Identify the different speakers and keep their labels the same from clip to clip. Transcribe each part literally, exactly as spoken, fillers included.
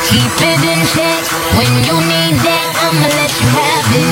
Speaker 1: Keep it in check. When you need that, I'ma let you have it.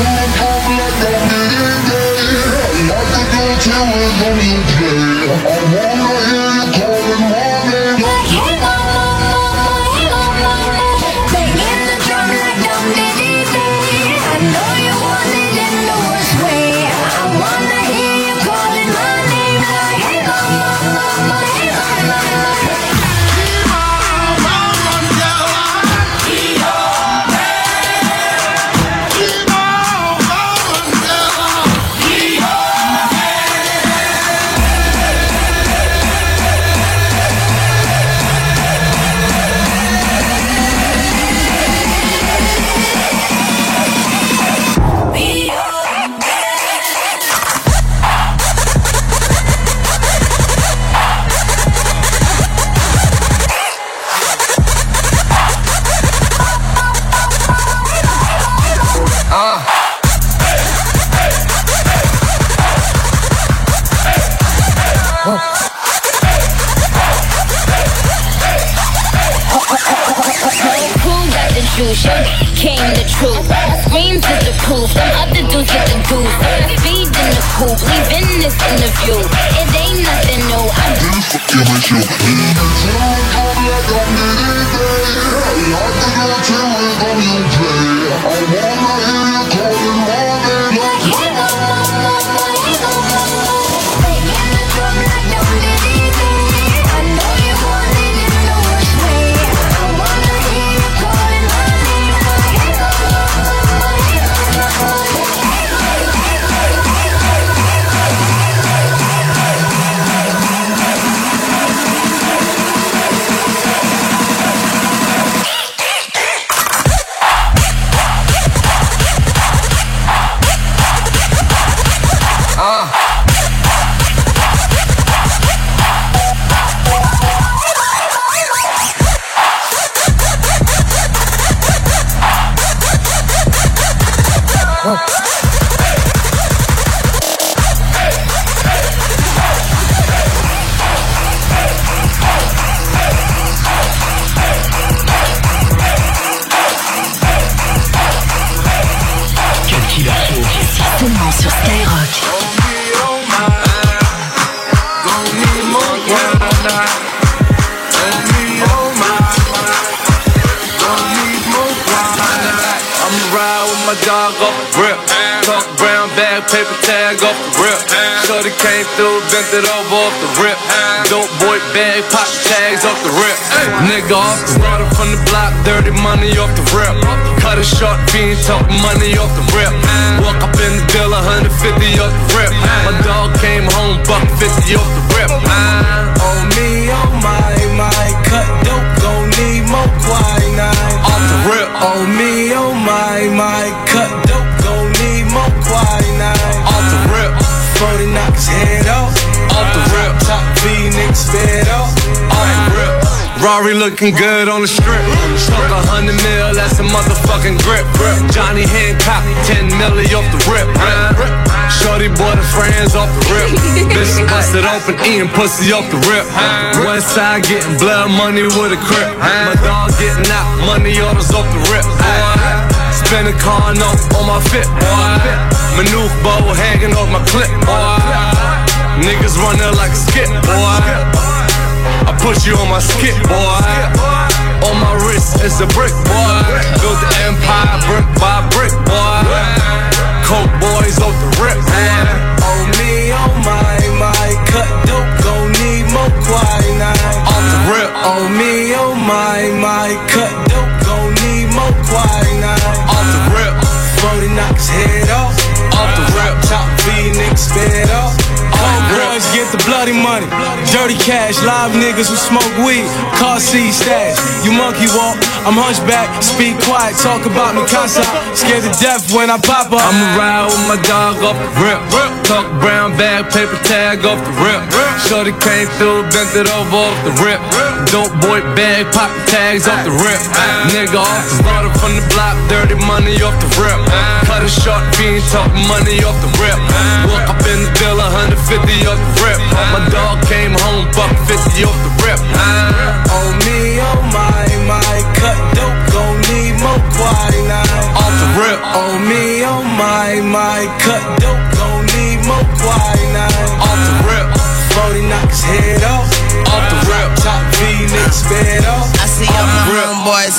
Speaker 2: Came the truth. Screams is the proof. Them other dudes get the goose. Feed in the coop. Leaving this interview. It ain't nothing new. I'm just fucking with you.
Speaker 1: Seulement sur Skyrock.
Speaker 3: My dog off the rip, talk brown bag, paper tag off the rip. Shorty came through, bent it over off the rip. Dope boy bag, pop tags off the rip. Nigga off the water from the block, dirty money off the rip. Cut a short fiend, talk money off the rip. Walk up in the deal, one fifty off the rip. My dog came home, buck fifty off the rip.
Speaker 4: Oh me, oh my, my, cut dope, gon' need more quinine.
Speaker 3: Off the rip.
Speaker 4: Oh me, oh my, my, cut dope, gon' need more quinine.
Speaker 3: Off the rip.
Speaker 4: forty knock his head off.
Speaker 3: Off the rip.
Speaker 4: Top V, niggas fed off.
Speaker 3: Off the rip. Rari looking good on the strip. Stuck a hundred mil, that's a motherfucking grip. Johnny Hancock, ten milli off the rip. Shorty bought her friends off the rip. Bitch busted open, eating pussy off the rip. West side getting blood money with a crip. My dog getting out, money orders off the rip. Spin a car note on my fit. My new bow hanging off my clip. Niggas running like a skip, boy. I put you on my skip, boy. On my wrist, it's a brick, boy. Built the empire brick by brick, boy. Coke boys off the rip, boy.
Speaker 4: Oh me, oh my, my, cut dope, gon' need more quinine.
Speaker 3: Off the rip.
Speaker 4: Oh me, oh my, my, cut dope, gon' need more quinine.
Speaker 3: Off the rip.
Speaker 4: forty knock his head off.
Speaker 3: Off the rip.
Speaker 4: Top V, niggas fed off. Boys get the bloody money, dirty cash, live niggas who smoke weed, car seat stash. You monkey walk, I'm hunchback, speak quiet, talk about me casa. Scared to death when I pop up.
Speaker 3: I'ma ride with my dog off the rip. Talk brown bag, paper tag off the rip. Shorty came through, bent it over off the rip. Dope boy bag, pop tags off the rip. Nigga off the water from the block, dirty money off the rip. Cut a short fiend, talk money off the rip. Walk up in the deal, one fifty off the rip. My dog came home, buck fifty off the rip.
Speaker 4: Oh me, oh my, my, cut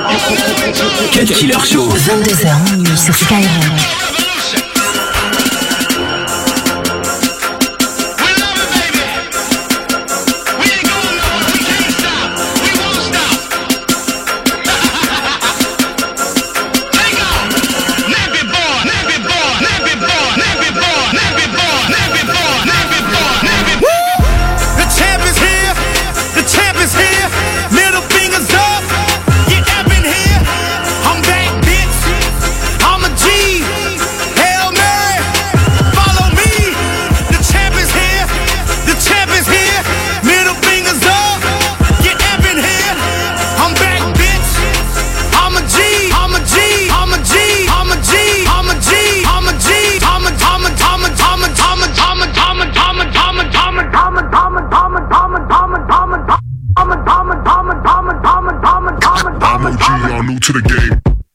Speaker 5: Cut Killer Show.
Speaker 1: vingt-deux heures minuit sur Skyrock.
Speaker 6: To the game.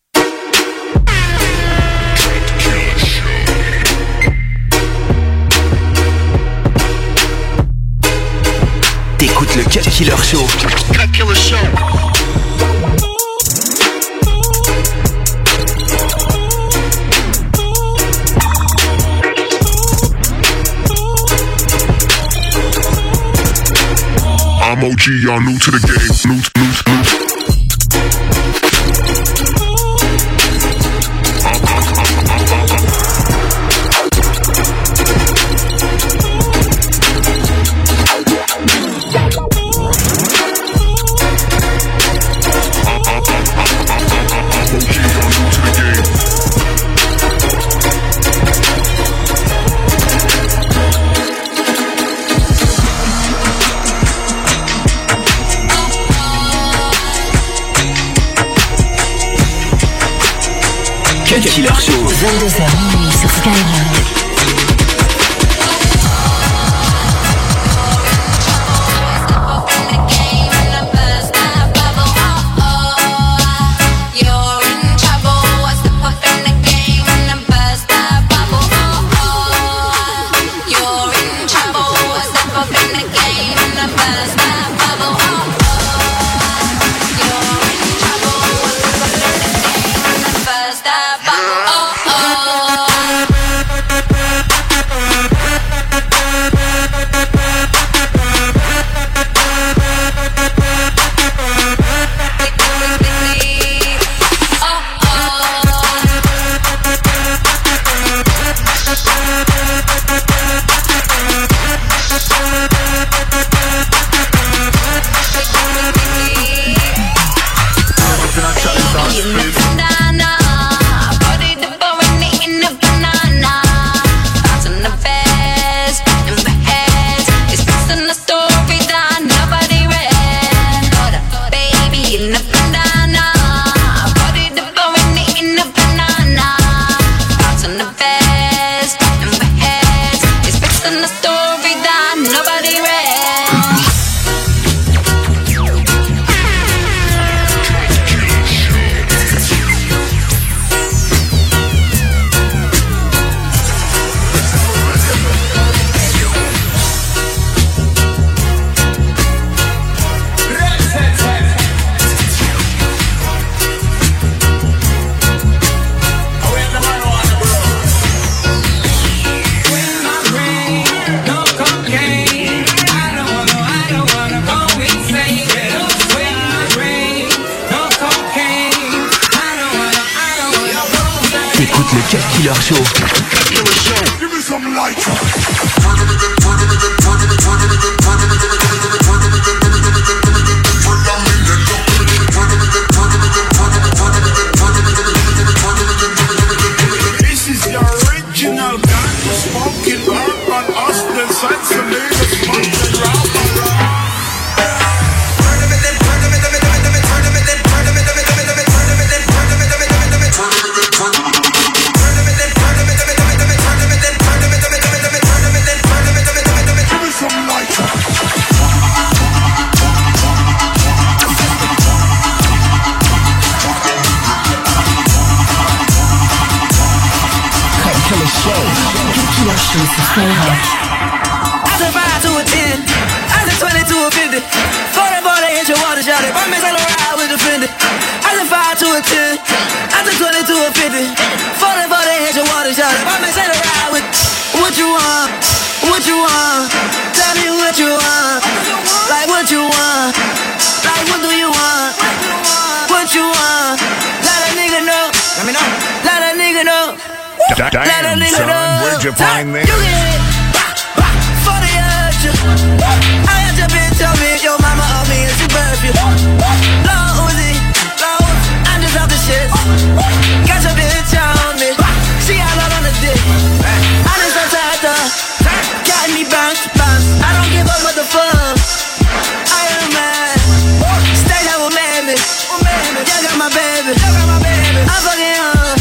Speaker 5: T'écoutes le Cut Killer Show.
Speaker 6: Cut Killer Show. I'm O G, y'all new to the game. New, new, new.
Speaker 5: Cut Killer Show.
Speaker 1: vingt-deux heures minuit sur Skyrock.
Speaker 5: Cut Killer Show.
Speaker 6: Give me some light.
Speaker 7: This is the original gun smoking urban hustle sense of niggas smoking round.
Speaker 2: I said five to a ten, I said twenty to a fifty. forty, forty, hit your water shot it. My man said ride with the fender. I said five to a ten, I said twenty to a fifty. forty, forty, hit your water shot it. My man said ride with. What you want? What you want? Tell me what you want. Like what you want? Like what do you want? What you want? Let a nigga know. Let me know. Let a nigga know.
Speaker 6: Damn, son, where'd you find this?
Speaker 2: You get it, for the urge. I had your bitch on me, your mama on me, and she birthed you. Low Uzi, low, I'm just off the shit. Got your bitch on me, she all out on the dick. I just so tired though, got me bounce, bounce. I don't give a motherfucker. I am mad, stay down with mammy. You got my baby, I'm fucking home.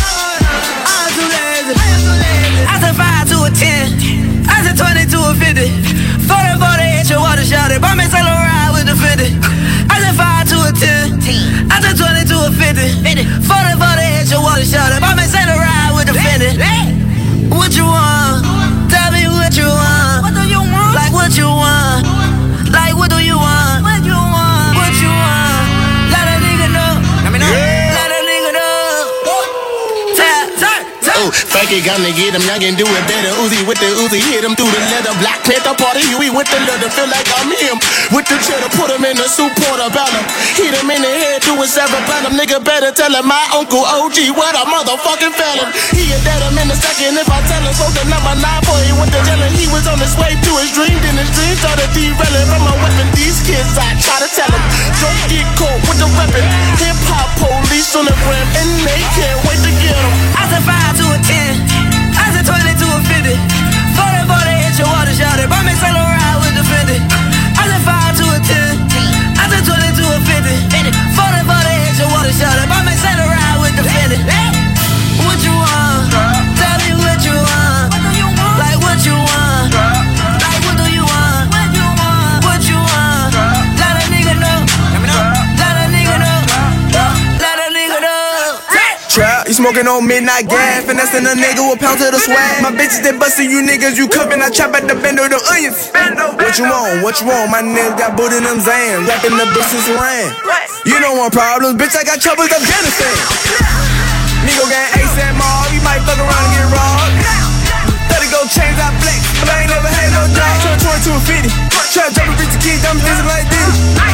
Speaker 2: I said five to a ten, I said twenty to a fifty. forty, forty, hit your water shot it. Buy me sell a ride with the fifty. I said five to a ten, I said twenty to a fifty. forty, forty, hit your water shot it. Buy me sell a ride with the fifty. What you want? Tell me what you want. What do you want? Like what you want? Like what do you want? What you want? What you want? Let a nigga know. Let me know. Let a nigga know. Tap, tap.
Speaker 8: Oh, fake it, gonna get him, y'all can do it better. Uzi with the Uzi, hit him through the leather. Black Panther party, Huey with the leather. Feel like I'm him. With the cheddar, put him in the soup portobello. Hit him in the head, do a cerebellum. Nigga better tell him my uncle O G, what a motherfucking felon. He a dead him in a second if I tell him. So the number nine boy, he went to jail. He was on his way to his dream. Then his dream started derailing from a weapon. These kids, I try to tell him, don't get caught with the weapon. Hip hop police on the gram, and they can't wait to get him.
Speaker 2: I said five to a ten, I said twenty to a fifty. forty, forty, hit your water shot it. Buy me sell a ride with the fifty. I said five to a ten, I said twenty to a fifty. forty, forty, hit your water shot it. Buy me sell a ride with the fifty. What you want? Tell me what you want. Like what you want? Like what do you want? What you want? Let a nigga know. Let a nigga know. Let a nigga know.
Speaker 9: Trap, you smoking on midnight gas, finessing a nigga with pounds of the swag. My bitches, they bustin' you niggas, you cuppin', I chop at the bend of the onions. What you want, what you want, my nigga got boot in them Zans, rapping the bitches ran. You don't want problems, bitch, I got troubles, Afghanistan. Nigga gang ASAP Mob, you might fuck around and get robbed. thirty gold chains, I flex, but I ain't never had no job. Turn twenty to a fifty, trap jumping bitch, kids, I'm busy like this.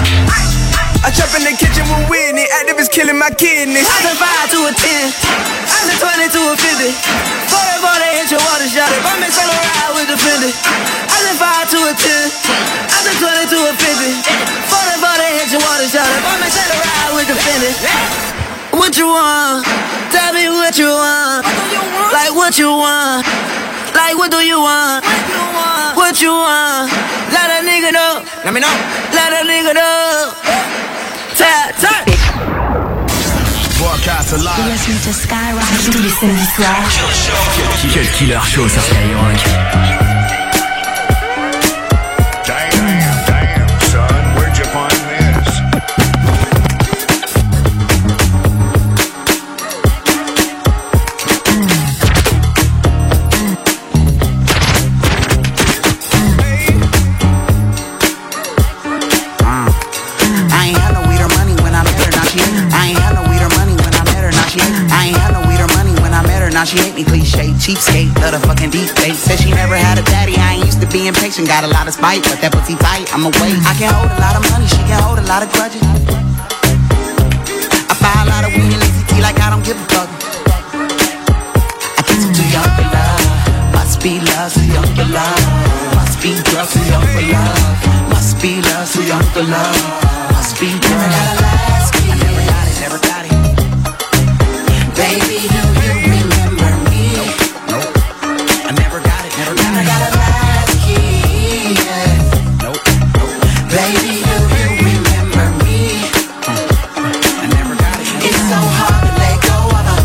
Speaker 9: I trap in the kitchen with Whitney, activists killing my kidneys.
Speaker 2: I said five to a ten, I said twenty to a fifty. forty, forty, hit your water shot it. Buy me sell a ride with the fifty. I said five to a ten, I said twenty to a fifty. forty, forty, hit your water shot it. Buy me sell a ride with the fifty. What you want? Tell me what you want. Like what you want? Like what do you want? What you want? Let a nigga know. Let me know. Let a nigga know. Tap, tap.
Speaker 8: Broadcast alive.
Speaker 1: Bienvenue sur Skyrock tous les samedis soirs.
Speaker 5: Cut Killer Show sur Skyrock.
Speaker 6: Damn, damn, son, where'd you find this?
Speaker 10: I ain't had no weed or money when I met her, now she I ain't had no weed or money when I met her, now she I ain't had no weed or money when I met her, now she hate me cliche, cheapskate, love the fucking deep fake. Said she never had a daddy, I ain't used to be impatient, got a lot of spite, but that pussy tight, I'm away. I can hold a lot of money, she can hold a lot of grudges. I buy a lot of weed and lazy tea like I don't give a fuck. I love, too young for love. Must be drugs, too young for love. Must be love, too young for love. Must be drugs. Never got a last key. I never got it, never got it. Baby, do you remember me? Nope, nope. I never got it, never got it. Never got a last key. Yeah. Nope, nope. Baby, do you remember me? I never got it. Never it's so hard to let go of her.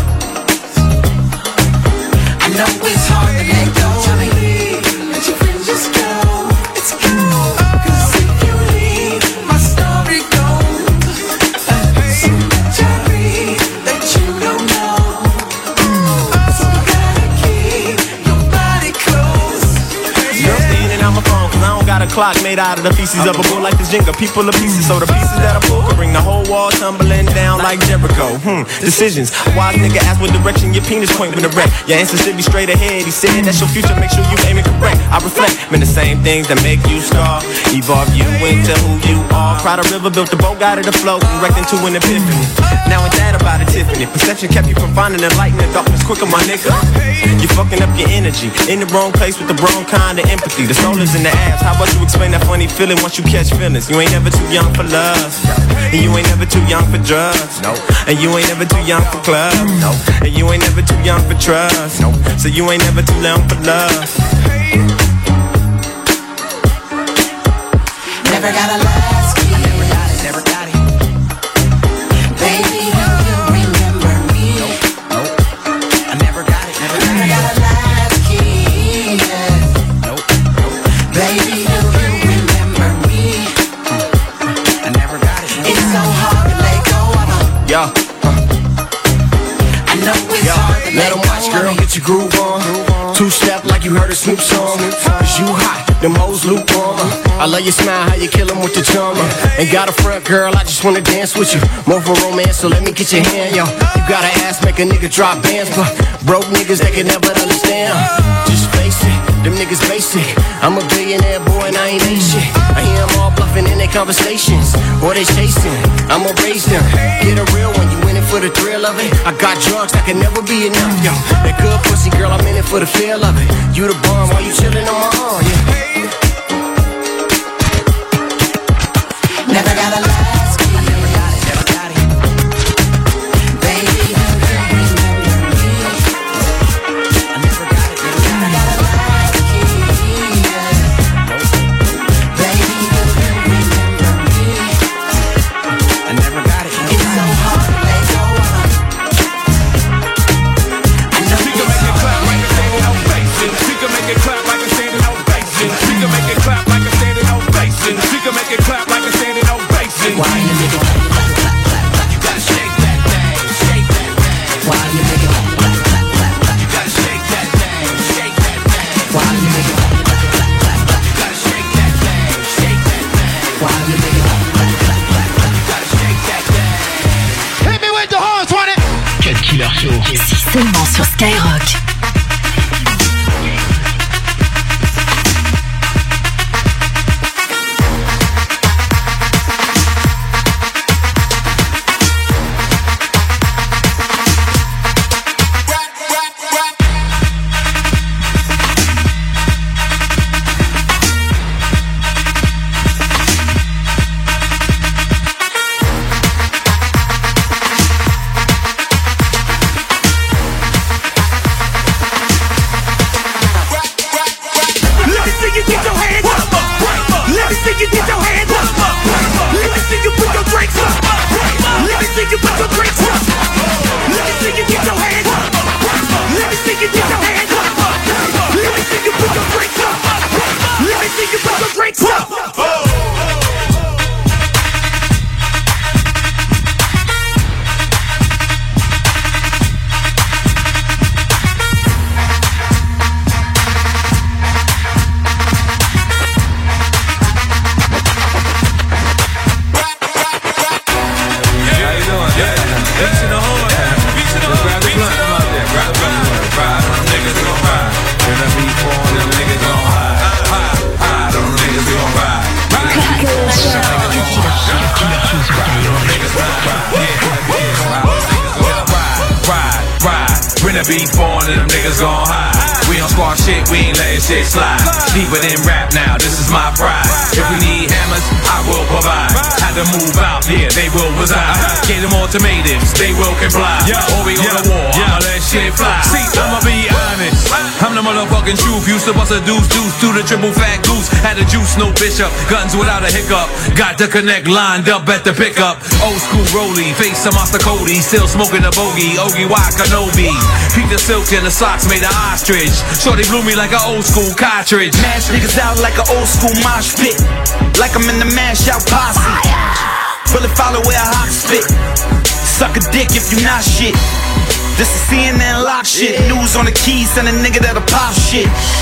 Speaker 10: I know it's hard to let go of me. Let your friends just go. It's cool. Cause if you leave, my story goes. So much I read that you don't know. So you gotta keep your body close.
Speaker 11: Girl, staying in on my phone, cause I don't got a clock made out of the pieces of a bull like this Jenga. People are pieces, so the pieces that I pull can bring the whole wall tumbling down like Jericho. Hmm, decisions. A wise nigga ask what direction your penis point when erect. Your answer should be straight ahead. He said that's your future, make sure you aim it correct. I reflect, man, the same things that make you scar. Evolve you into who you are. Cried a river, built a boat, got it afloat, and wrecked into an epiphany. Now ain't that about a Tiffany? Perception kept you from finding the light in the darkness quicker, my nigga. You're fucking up your energy, in the wrong place with the wrong kind of empathy. The soul is in the abs, how about you explain that funny feeling once you catch feelings? You ain't never too young for love, and you ain't never too young for drugs, no. And you ain't never too young for clubs, no. And you ain't never too young for trust, no. So you ain't never too young for love.
Speaker 10: Never got a last key. I never got it, never got it. Baby, do you remember me? Nope, nope. I never got it, never got it. Never got a last key. Yeah. Nope, nope. Baby, do you remember me? I never got it. It's so hard to let go of her.
Speaker 8: Yo,
Speaker 10: I know it's
Speaker 8: yo,
Speaker 10: hard to
Speaker 8: let
Speaker 10: let
Speaker 8: him
Speaker 10: go
Speaker 8: watch, girl,
Speaker 10: of me.
Speaker 8: get your groove on. Two step like you heard a Snoop song. Cause you hot, them hoes lukewarm. I love your smile, how you kill them with the charmer. Ain't got a front, girl, I just wanna dance with you. More for romance, so let me get your hand, yo. You got an ass, make a nigga drop bands, but broke niggas, they can never understand. Just face it, them niggas basic. I'm a billionaire boy and I ain't ain't shit. I hear them all bluffing in their conversations, or they chasing. I'ma raise them, get a real one, you in it for the thrill of it. I got drugs, that can never be enough, yo. That good pussy, girl, I'm in it for the feel of it. You the bomb while you chillin' on my arm, yeah.
Speaker 10: Never got a last key. Never got it, never got it. Baby, do you remember me? I never got it, never got it. Never got a last key. Yeah. Baby, do you remember me? I never got it. Never it's so hard to let go of her. I know
Speaker 7: she can make it clap like a standing ovation. She can make it clap like a standing ovation. She can make it clap like a standing ovation. She can make it clap like a standing ovation.
Speaker 10: Why you make it clap, clap, clap, clap, clap?
Speaker 7: You gotta shake that thing, shake that thing.
Speaker 10: Why you make it clap, clap, clap, clap, clap?
Speaker 7: You gotta shake that thing, shake that thing.
Speaker 10: Why you make it clap, clap, clap, clap, clap?
Speaker 7: You gotta shake that thing, shake that thing.
Speaker 10: Why you make it clap, clap, clap, clap, clap?
Speaker 7: You gotta shake that thing.
Speaker 8: Hit me with the horns, want it?
Speaker 5: Cut Killer Show.
Speaker 12: Ici seulement sur Skyrock.
Speaker 7: When the beef on and them niggas gon' hide. We don't squash shit, we ain't letting shit slide. Deeper than rap now, this is my pride. If we need hammers, I will provide. Had to move out, yeah, they will reside. Get them ultimatums, they will comply. Or we go to war, I'ma let shit fly. See, I'ma be honest, I'm the motherfucking truth. Used to bust a deuce, deuce to the triple fat goose. Had a juice, no bishop, guns without a hiccup. Got the connect lined up at the pickup. Old school rollie, face some Monster Cody. Still smoking a bogey, Ogie Y Kenobi. Peep the silk and the socks made of ostrich. Shorty blew me like an old school cartridge.
Speaker 13: Mash niggas out like an old school mosh pit. Like I'm in the mash out posse. Bullet follow where a hawk spit. Suck a dick if you not shit. This is C N N lock shit. News on the keys, send a nigga that'll pop shit.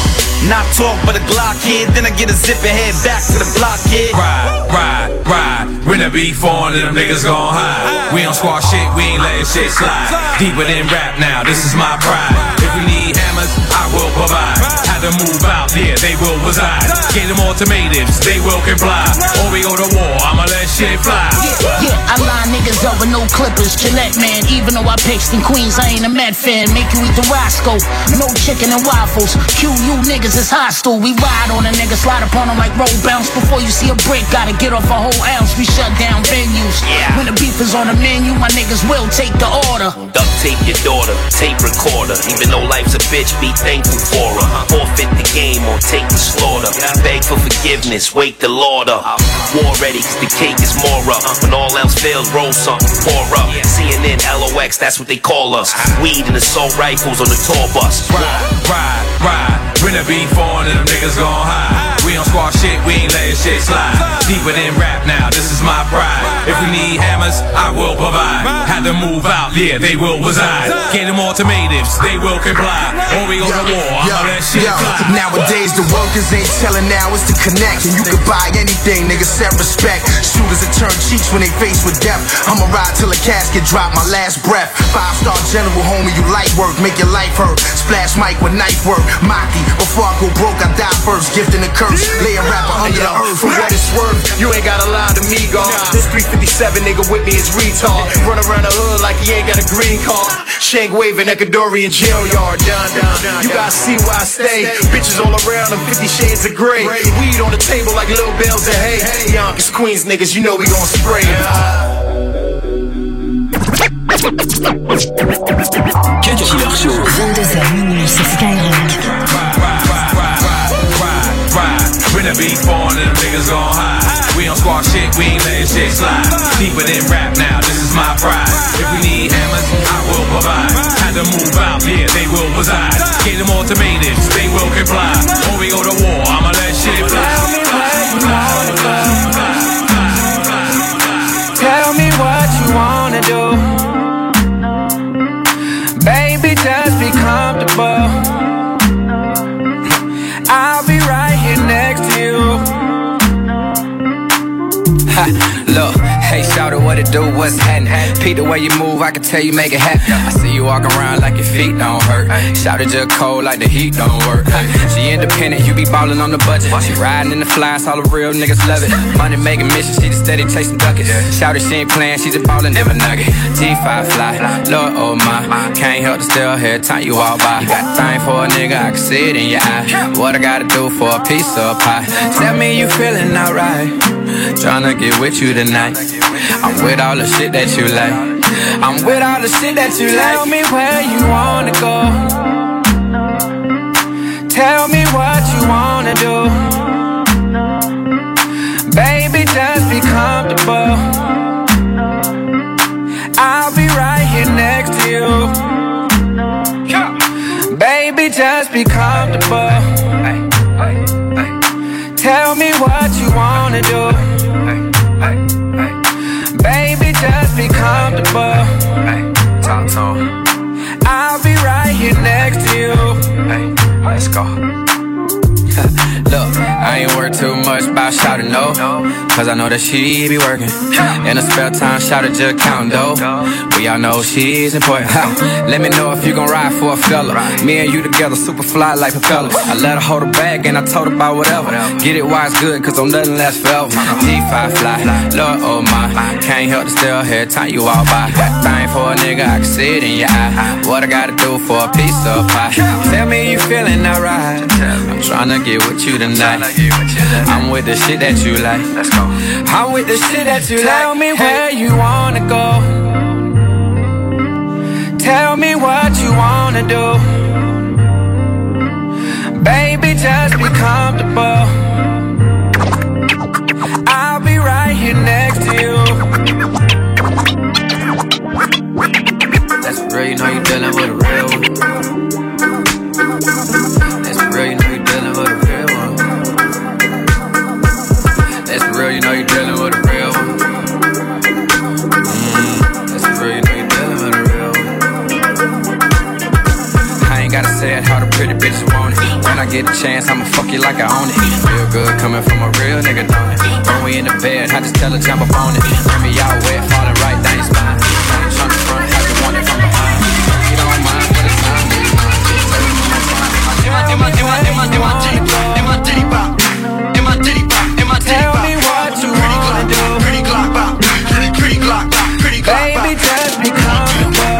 Speaker 13: Not talk but a Glock kid. Then I get a zip and head back to the block kid.
Speaker 7: Ride, ride, ride. When the beef on and them niggas gon' hide. We don't squash shit, we ain't letting shit slide. Deeper than rap now, this is my pride. If we need hammers, I will provide. Had to move out, yeah, they will reside. Get them ultimatums, they will comply. Or we go to war, I'ma let shit fly.
Speaker 14: Yeah, yeah, I line niggas over no clippers. Gillette man, even though I pitched in Queens, I ain't a Met fan. Make you eat the Roscoe, no chicken and waffles. Q U niggas is hostile. We ride on a nigga, slide upon them like roll bounce. Before you see a brick, gotta get off a whole ounce. We shut down venues.
Speaker 13: Yeah.
Speaker 14: When the beef is on the menu, my niggas will take the order.
Speaker 15: Duct tape your daughter, tape recorder. Even though life's a bitch, be thankful for her. Forfeit the game or take the slaughter. Beg for forgiveness, wake the Lord up. War ready, cause the cake is more up. When all else fails, roll something, pour up. C N N, L O X, that's what they call us. Weed and assault rifles on the tour bus.
Speaker 7: Ride, ride, ride. When the beef on and them niggas gon' hide. We don't squash shit, we ain't letting shit slide. Deeper than rap now, this is my pride. If we need hammers, I will provide. Had to move out, yeah, they will reside. Get them ultimatums, they will comply. Or we go to war, I'ma let shit fly.
Speaker 16: Nowadays the workers ain't telling now, it's the connect. And you can buy anything, niggas set respect. Shooters that turn cheeks when they face with death. I'ma ride till a casket drop my last breath. Five star general, homie, you light work, make your life hurt. Splash mic with knife work, Maki. Before I go broke, I die first, gifting the curse. Lay a rapper under the earth.
Speaker 17: For what it's worth, you ain't gotta lie to me, God. This three fifty-seven nigga with me is retard. Run around the hood like he ain't got a green card. Shank waving Ecuadorian jail yard. Down, down, down. You gotta see where I stay. Bitches all around them, fifty shades of gray. Weed on the table like little bells of hay. Yonkers, Queens niggas, you know we gon' spray.
Speaker 12: Killer Show. vingt-deux heures minuit sur Skyrock.
Speaker 7: When the beef on and them niggas gon' hide. We don't squash shit, we ain't letting shit slide. Deeper than rap now, this is my pride. If we need hammers, I will provide. Had to move out, yeah, they will reside. Get them ultimatums, they will comply. Or we go to war, I'ma let shit fly.
Speaker 2: Tell me where you wanna go. Tell me what you wanna do. Baby, just be comfortable. I'll be right here next to you.
Speaker 18: Ha, look, hey, shout out what it do, what's happening? Pete, the way you move, I can tell you make it happen. I see you walking around like your feet don't hurt. Shout it just cold like the heat don't work. She independent, you be ballin' on the budget. She riding in the flies, all the real niggas love it. Money making mission, she just steady chasing duckets. Shout it, she ain't playing, she just ballin' them a nugget. G five fly, Lord oh my, can't help to still hear time you walk by. You got a thing for a nigga, I can see it in your eye. What I gotta do for a piece of pie? Tell me you feeling alright. Tryna get with you tonight. I'm with all the shit that you like. I'm with all the shit that you like.
Speaker 2: Tell me where you wanna go. Tell me what you wanna do. Baby, just be comfortable. I'll be right here next to you. Baby, just be comfortable. Tell me what you wanna do. Baby, just be comfortable. I'll be right here next to you.
Speaker 18: Let's go. Look, I ain't worried too much about shouting no. cause I know that she be working. In her spare time, shout it, just counting dough. We all know she's important. Let me know if you gon' ride for a fella. Me and you together, super fly like propellers. I let her hold her bag and I told her about whatever. Get it while it's good, cause don't nothing last forever. G five fly, Lord oh my. Can't help to still hear time you walk by. Thing for a nigga, I can see it in your eye. What I gotta do for a piece of pie? Tell me you feeling alright. I'm tryna get with you tonight. I'm with the shit that you like. Let's go. I'm with the shit that you like. Tell me where you wanna go. Tell me what you wanna do. Baby, just be comfortable. I'll be right here next to you. That's real, you know you dealing with a real one. That's real, you know you dealing with a real one. That's real, you know you dealing with a real one. Mm, that's real, you know you dealing with a real one. I ain't gotta say it how the pretty bitches want it. When I get a chance, I'ma fuck you like I own it. Real good coming from a real nigga, don't it? When we in the bed, I just tell her jump up on it. Bring me out wet, falling right down your spine. Trying to front, how you want it from behind. You don't mind for the time. In my, in my, in my, in my titty bop, in my titty bop, in my titty bop, in my titty bop. Tell me what you wanna do. Pretty Glock bop, pretty, pretty Glock bop, pretty Glock bop. Baby, just be comfortable.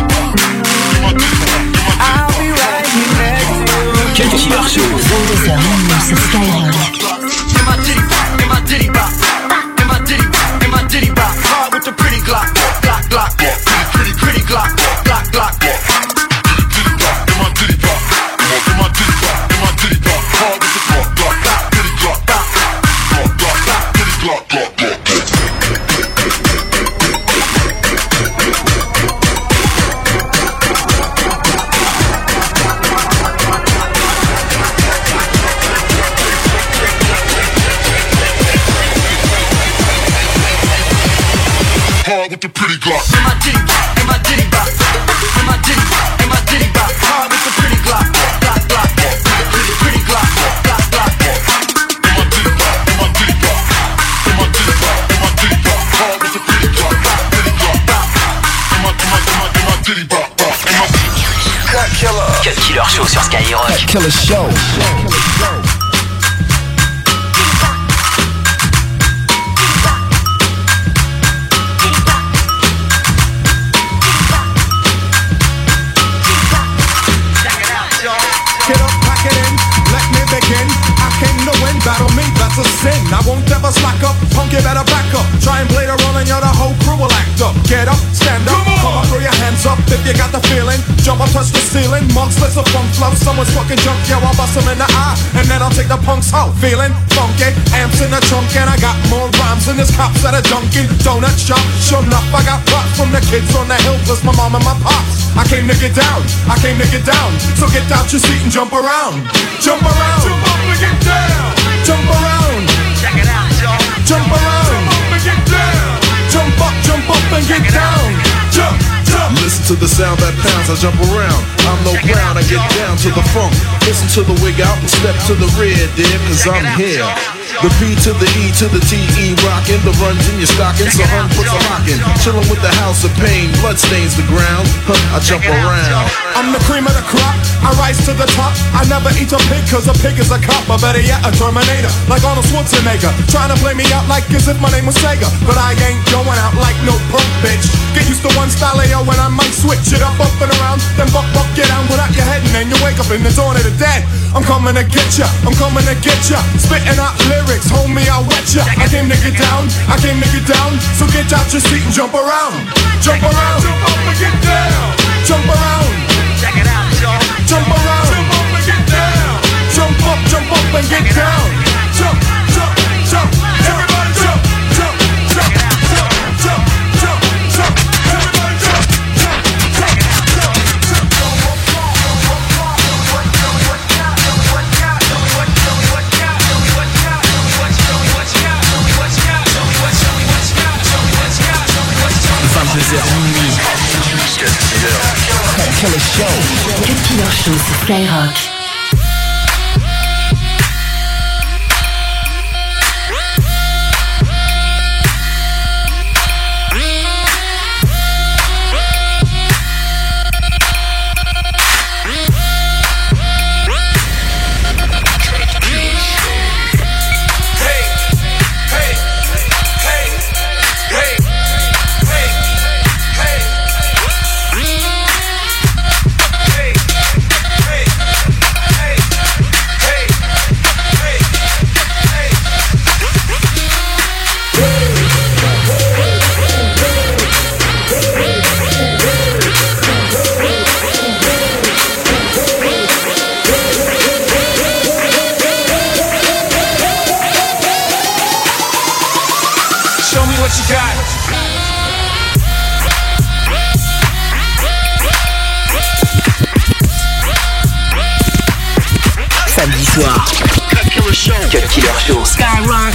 Speaker 18: I'll be right here next to you.
Speaker 12: Cut Killer Show, vingt-deux heures minuit sur Skyrock.
Speaker 2: In my titty bop, in my titty bop, in my titty bop, in my titty bop. Hard with the pretty Glock, Glock, Glock, pretty, pretty Glock, Glock, Glock.
Speaker 8: With the pretty Glock.
Speaker 2: In my titty bop, in my titty bop, in my titty bop, in my titty bop. Hard with the pretty Glock, Glock, Glock, pretty, pretty Glock, Glock, Glock.
Speaker 8: In my titty bop, in my titty bop, in my titty bop, in my titty bop. Hard with the pretty Glock, pretty Glock. In my, in my, in my, in my titty bop, bop. In my
Speaker 5: Cut Killer. Cut Killer Show sur Skyrock.
Speaker 12: Cut Killer Show.
Speaker 19: Battle me, that's a sin. I won't ever slack up. Punk, you better back up. Try and play the role and you're the whole crew will act up. Get up, stand up, come, come up, throw your hands up if you got the feeling. Jump up, touch the ceiling. Monks, let's a funk flow. Someone's fucking junk, yo, I'll bust them in the eye. And then I'll take the punks out. Feeling funky, amps in the trunk. And I got more rhymes than this cops at a Dunkin' Donut shop. Sure enough, I got props from the kids on the hill, plus my mom and my pops. I came to get down, I came to get down. So get out your seat and jump around. Jump around, jump up and get down. Jump around, check it out, y'all. Jump around, jump up and get down. Jump up, jump up and get down. Jump, jump.
Speaker 20: Listen to the sound that pounds, I jump around. I'm no clown, I get down to the funk. Listen to the wig out and step to the rear, dear, cause I'm here. The P to the E to the T E rockin'. The runs in your stocking, so hun puts a lock in. Chillin' with the house of pain, blood stains the ground. Huh, I jump around.
Speaker 19: I'm the cream of the crop, I rise to the top. I never eat a pig cause a pig is a cop. Or better yet, a Terminator, like Arnold Schwarzenegger. Trying to play me out like as if my name was Sega. But I ain't going out like no punk bitch. Get used to one style yo, when I might switch it up, up and around. Then buck, buck, get down without your head. And then you wake up in the dawn of the dead. I'm coming to get ya, I'm coming to get ya. Spitting out lyrics, homie, I'll wet ya. I came to get down, I came to get down. So get out your seat and jump around. Jump around, jump up and get down. Jump around, check it out, y'all. Jump around, jump up and get down. Jump up, jump up and get down. Jump, jump, jump, everybody jump, jump, jump, jump, jump, jump, jump, everybody jump, jump, jump, jump, jump.
Speaker 12: vingt-deux heures minuit. Cut Killer Show. Cut Killer Show sur Skyrock.
Speaker 4: show me what you got.
Speaker 12: Samedi soir.
Speaker 5: Cut Killer Show. Cut Killer Show.
Speaker 14: Skyrock.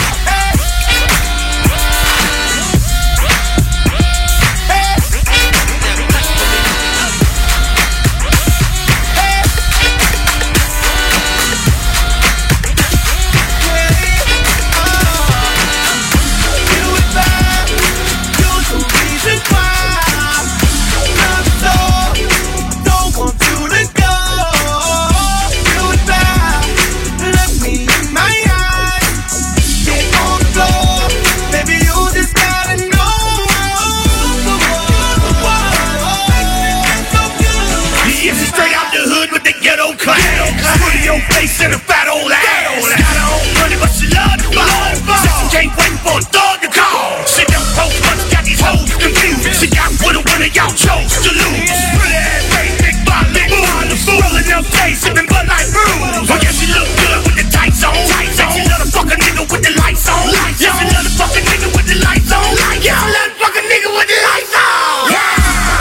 Speaker 21: Face in a fat old ass. Got her own money, but she love the ball. Said she can't wait for a thug to call. She done post months, got these hoes confused. She got with a winner, y'all chose to lose. Pretty ass face, big body, moves. Rolling up days, sipping Bud Light brews. I guess she look good with the tights on. Said she love the fucking nigga with the lights on. Yeah, she love the fucking nigga with the lights on. Yeah, I love the fucking nigga with the lights on. Yeah.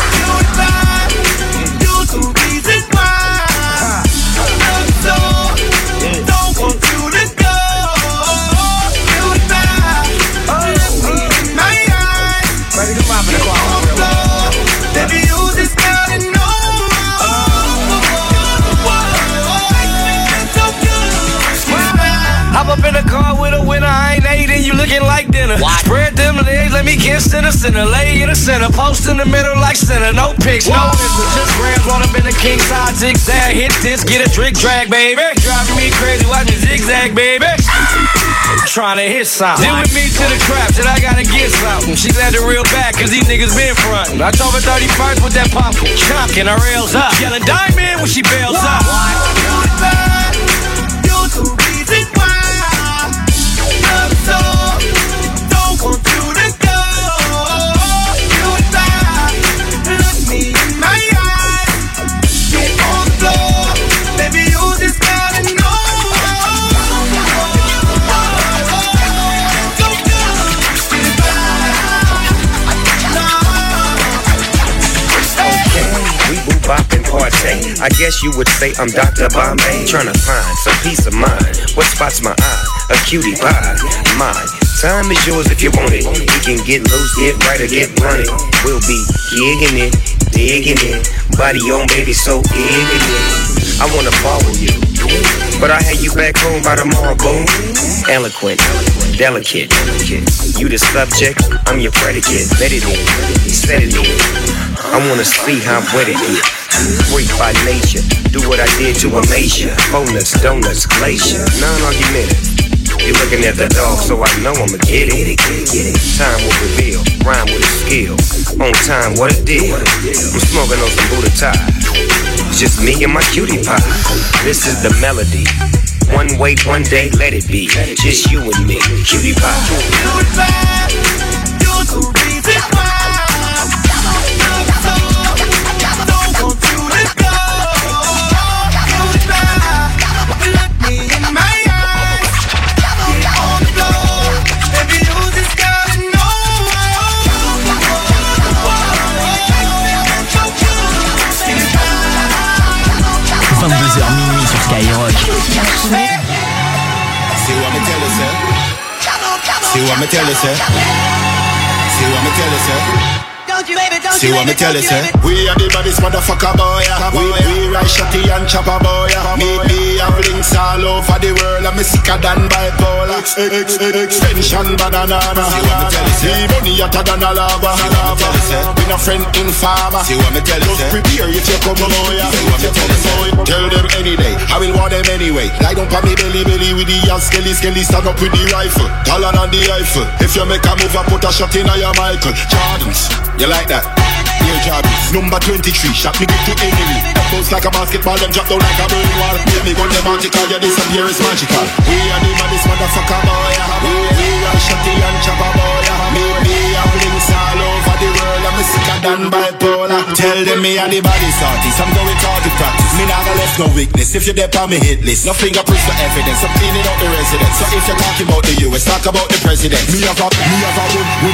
Speaker 4: Hop up in the car with a winner, I ain't ate and you looking like dinner. What? Spread them legs, let me kiss in the center. Lay in the center, post in the middle like center. No pics, no misses, just grams on up in the king side zigzag. Hit this, get a trick drag, baby. Driving me crazy, watch me zigzag, baby. Trying to hit something. Deal with me to the trap, said I gotta get something. She glad the real back, cause these niggas been frontin'. I told her thirty-first with that pumpkin. Chunkin' her rails up. Yelling diamond when she bails up.
Speaker 21: You're the reason why. So, don't want you to go. You and I, look me in my eyes. Get on the floor, baby, you just gotta know.
Speaker 15: Okay, we boo bop and partay. I guess you would say I'm Doctor Bombay. Tryna find some peace of mind. What spots my eye? A cutie pie. My time is yours if you want it. You can get loose, get right or get running. We'll be gigging it, digging it. Body on baby, so gigging it. I wanna follow you, but I had you back home by tomorrow, boom. Eloquent, delicate. You the subject, I'm your predicate. Let it in, set it in. I wanna see how wet it is. Freak by nature, do what I did to Amasia. Bonus, donuts, glacier, non-argumentative. You're looking at the dog, so I know I'ma get it. Time will reveal, rhyme with a skill. On time, what a deal. I'm smoking on some Buddha tie. It's just me and my cutie pie. This is the melody. One way, one day, let it be. Just you and me, cutie pie.
Speaker 21: You're the reason why.
Speaker 12: vingt-deux heures minuit sur Skyrock.
Speaker 22: See what me tell you, sir? See what me tell you, sir? See what me tell you, sir? See what me tell you, sir?
Speaker 19: We are the baddest motherfucker boy. We, we ride shotty and chopper boy. Me, me have links all over the world. I'm sicker than bipolar. Ex, ex, ex, extension banana.
Speaker 22: See what me tell you, sir?
Speaker 19: Me money hotter than a lava.
Speaker 22: See what me tell you, sir?
Speaker 19: Been a friend in farmer.
Speaker 22: See what me tell you, sir?
Speaker 19: Just prepare if you come boy.
Speaker 22: See what me tell you, sir?
Speaker 19: Tell them any day, I will want them anyway. Lie down pa me belly belly with the ass skelly skelly. Stand up with the rifle, taller than the Eiffel. If you make a move, I put a shot in your Michael Jordans. You like that? Air Jordans. Number twenty-three, shot me get to enemy. Bounce like a basketball, them drop down like a burning wall. Make me gun them magical, yeah this disappear is magical. We are the maddest motherfucker boy. We, we are shotty and chopper boy. Me, me have links all over the world. I'm sicker than bipolar. Tell them me and the body's artist. I'm going to practice. Me not gonna left no weakness. If you dip on me hit list, no fingerprints for evidence. I'm cleaning out the residence. So if you're talking about the U S, talk about the president. Me have a, me have a win,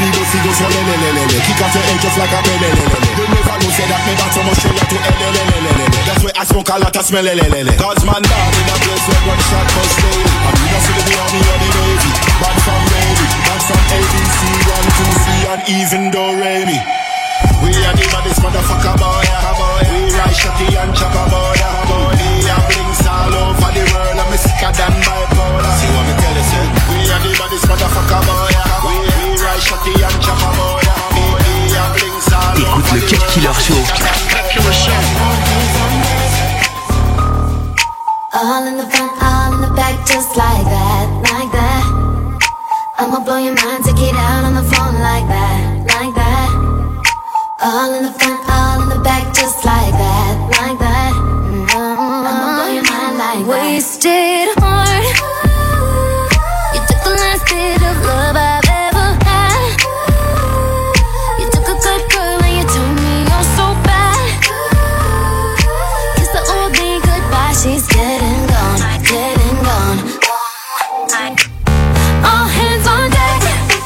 Speaker 8: so le le le le le. Kick off your head just like a le le le le. You never know say that me back from Australia to le le le le le. That's why I smoke a lot of smell le le le le. Cause man down in a place where one shot goes slowly. And we don't see the army or the navy. Bad from baby, bad from A B C, one, two, three, and even though Remy. We are the baddest motherfucker boy, boy. We ride shotty and chopper boy, boy. We are blinks all over the world, and me sicker than bipolar. See what me tell you, say? We are the baddest motherfucker boy, boy. We ride shotty and chopper boy, boy. We are blinks all over the world.
Speaker 12: Écoute le Cut Killer Show.
Speaker 21: Cut Killer Show.
Speaker 1: All in the front, all in the back, just like that, like that. I'ma blow your mind, take it out on the phone like that, like that. All in the front, all in the back, just like that, like that. Mm-hmm. I'ma blow your mind like that. Wasted heart. You took the last bit of love I've ever had. You took a good girl and you turned me on so bad. Kiss the old me goodbye, she's dead and gone, dead and gone. All hands on deck.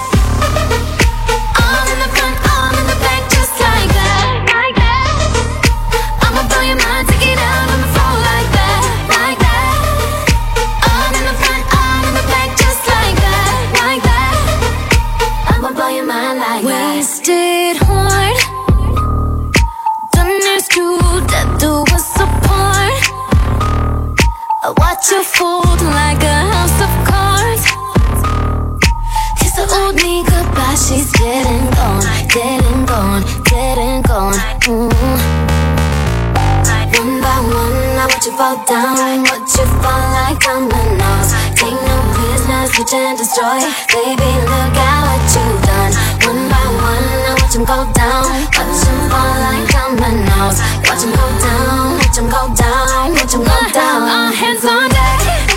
Speaker 1: All in the front, all in the back, just like that, like that. I'ma blow your mind, take it out on the floor like that, like that. All in the front, all in the back, just like that, like that. I'ma blow your mind like that. Wasted heart. Done this to death do us apart. I watch you fold like a house of cards. Kiss the old me goodbye, she's dead and gone, dead and gone, dead and gone. Mm. One by one, I watch you fall down, watch you fall like dominoes. Take no prisoners, switch and destroy. Baby, look at what you've done. One by one, I watch him go down, watch him fall like dominoes. Watch him go down, watch him go down, watch him go down. All hands on deck.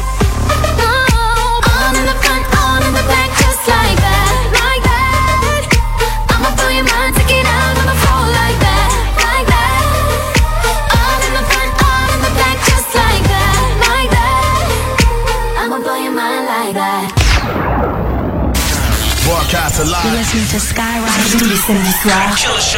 Speaker 1: All in the front, all in the back, just like that, like that. I'ma blow your mind, take it out on the floor like that, like that. All in the front, all in the back, just like that, like that. I'ma blow your mind like that.
Speaker 16: Broadcast alive.
Speaker 12: You're listening to Skyrock tous les samedis soirs.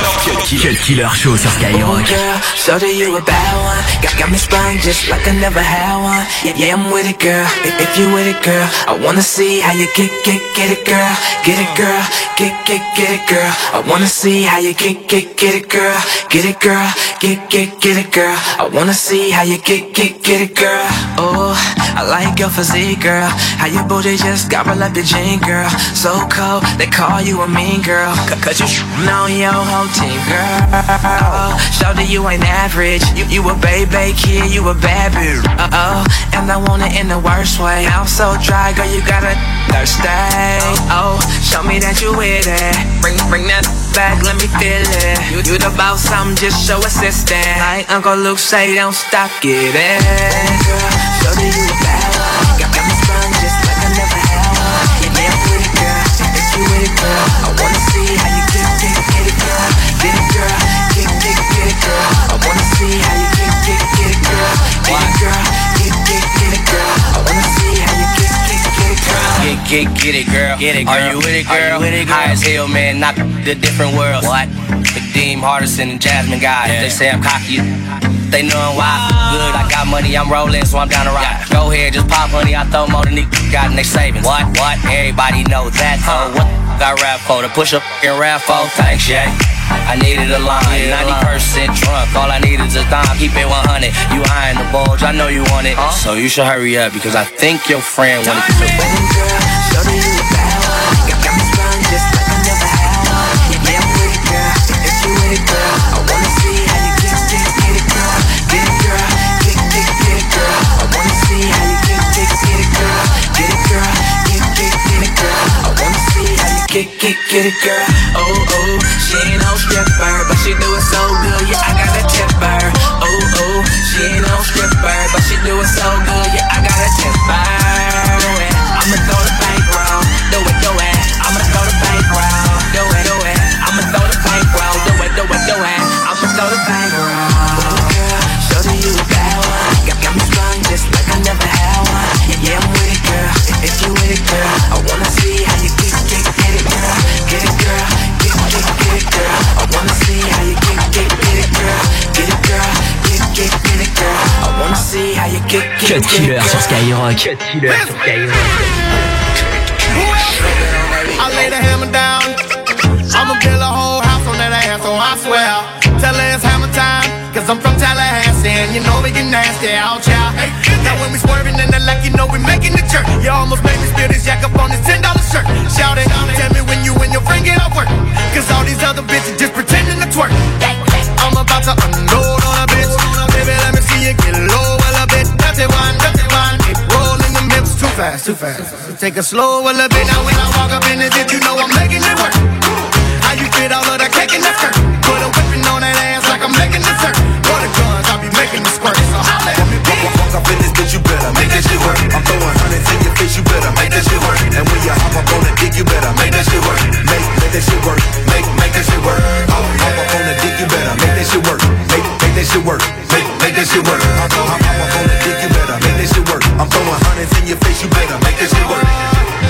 Speaker 12: Cut Killer Show sur Skyrock.
Speaker 2: Girl, so that you a bad one. Got, got me sprung just like I never had one. Yeah, yeah, I'm with it, girl. If, if you with it, girl, I wanna see how you get, get, get it, girl. Get it, girl. Get, get, get it, girl. I wanna see how you get, get, get it, girl. Get it, girl. Get, get, get it, girl. I wanna see how you get, get, get it, girl. Oh, I like your physique, girl. How your booty just gobble up your jean, girl. So cold, they call you a mean girl. Cause you know your whole team, girl. Oh, show that you ain't average. You, you a baby kid, you a bad bitch. Uh-oh, and I want it in the worst way. I'm so dry, girl, you gotta thirsty. Oh, show me that you with it. Bring, bring that back, let me feel it. You, you the boss, I'm just show assistant. Like Uncle Luke say, don't stop, get it. Girl, show that you a bad one. Got, got me sprung just like I never had one. Yeah, yeah, I'm with it, girl. If you with it, girl, I wanna see how you get, get, get it, girl. Get it, girl. Get, get, get it, girl. I wanna see how you get, get, get it, girl. Get it, girl. Get, get, get it, girl. I wanna see how you get, get, get it, girl.
Speaker 3: Get, get, get it, girl. Get it, girl. Are you with it, girl? Are you with it, girl? High as hell, man. Knock the different worlds. What? Kadeem, Hardison, and Jasmine guys. Yeah. They say I'm cocky. They know why. Good, I got money, I'm rolling, so I'm down to ride. Yeah. Go ahead, just pop honey, I throw more than these got and they saving. What? What? Everybody know that. Huh? What I rap for? To push up and rap for? Thanks, yeah. I needed a line, ninety percent drunk. All I need is a dime, keep it one hundred. You eyeing the bulge, I know you want it. Huh? So you should hurry up because I think your friend wanted to.
Speaker 2: Girl, show that you a bad one. Got, got me sprung just like I never had one. Yeah, yeah, I'm with it, girl. If you with it, girl, I wanna see how you get, get, get it, girl. Get it, girl. Get, get, get it, girl. I wanna see how you get, get, get it, girl. Get it, girl. Get, get, get it, girl. I wanna see how you get, get, get it, girl. Oh, oh, she ain't no stripper, but she do it so good, yeah, I gotta tip her. Oh, oh, she ain't no stripper, but she do it so good, yeah, I gotta tip her. Do it, I'ma throw the bank round. Do it, do it, I'ma throw the bank round. Do it, do it, I'ma throw the bank round. Do it, do it, do it, I'ma throw the bank round. Girl, show that you a bad one. Got, got me sprung just like I never had one. Yeah, yeah, I'm with it, girl. If you with it, girl, I wanna see how you get, get, get it, girl. Get it, girl. Get,
Speaker 12: Cut Killer sur Skyrock. Cut Killer sur Skyrock.
Speaker 17: I lay the hammer down. I'ma build a whole house on that ass, so I swear. Tell her it's hammer time, cause I'm from Tallahassee, and you know we get nasty out, child. Now when we swerving in the like, you know we making the jerk. You almost made me spill this yak up on this ten dollar shirt. Shout it, tell me when you and your friend get off work, cause all these other bitches just pretending to twerk. I'm about to unload on a bitch. Baby, let me see you get low a little bit. Dirty one, dirty one. It rolling them hips too fast, too fast. Take a slow a little bit. Now when I walk up in the ditch, you know I'm making it work. How you fit all of that cake in that skirt? Put a whipping on that ass like I'm making dessert. For the guns, I'll be making the squirt. So holla at me, bitch.
Speaker 9: Walk up in this bitch, you better make that shit work. I'm throwing hundreds in your face, you better make that shit work. And when you hop up on the dick, you better make that shit work. Make, make that shit work. Make, make that shit work. Hop, hop up on the dick, you better make that shit work. Make, make that shit work. Make, make that shit work. Hop, hop, hop up on the dick, you better make that shit work. I'm throwing hundreds in your face, you better make that shit work.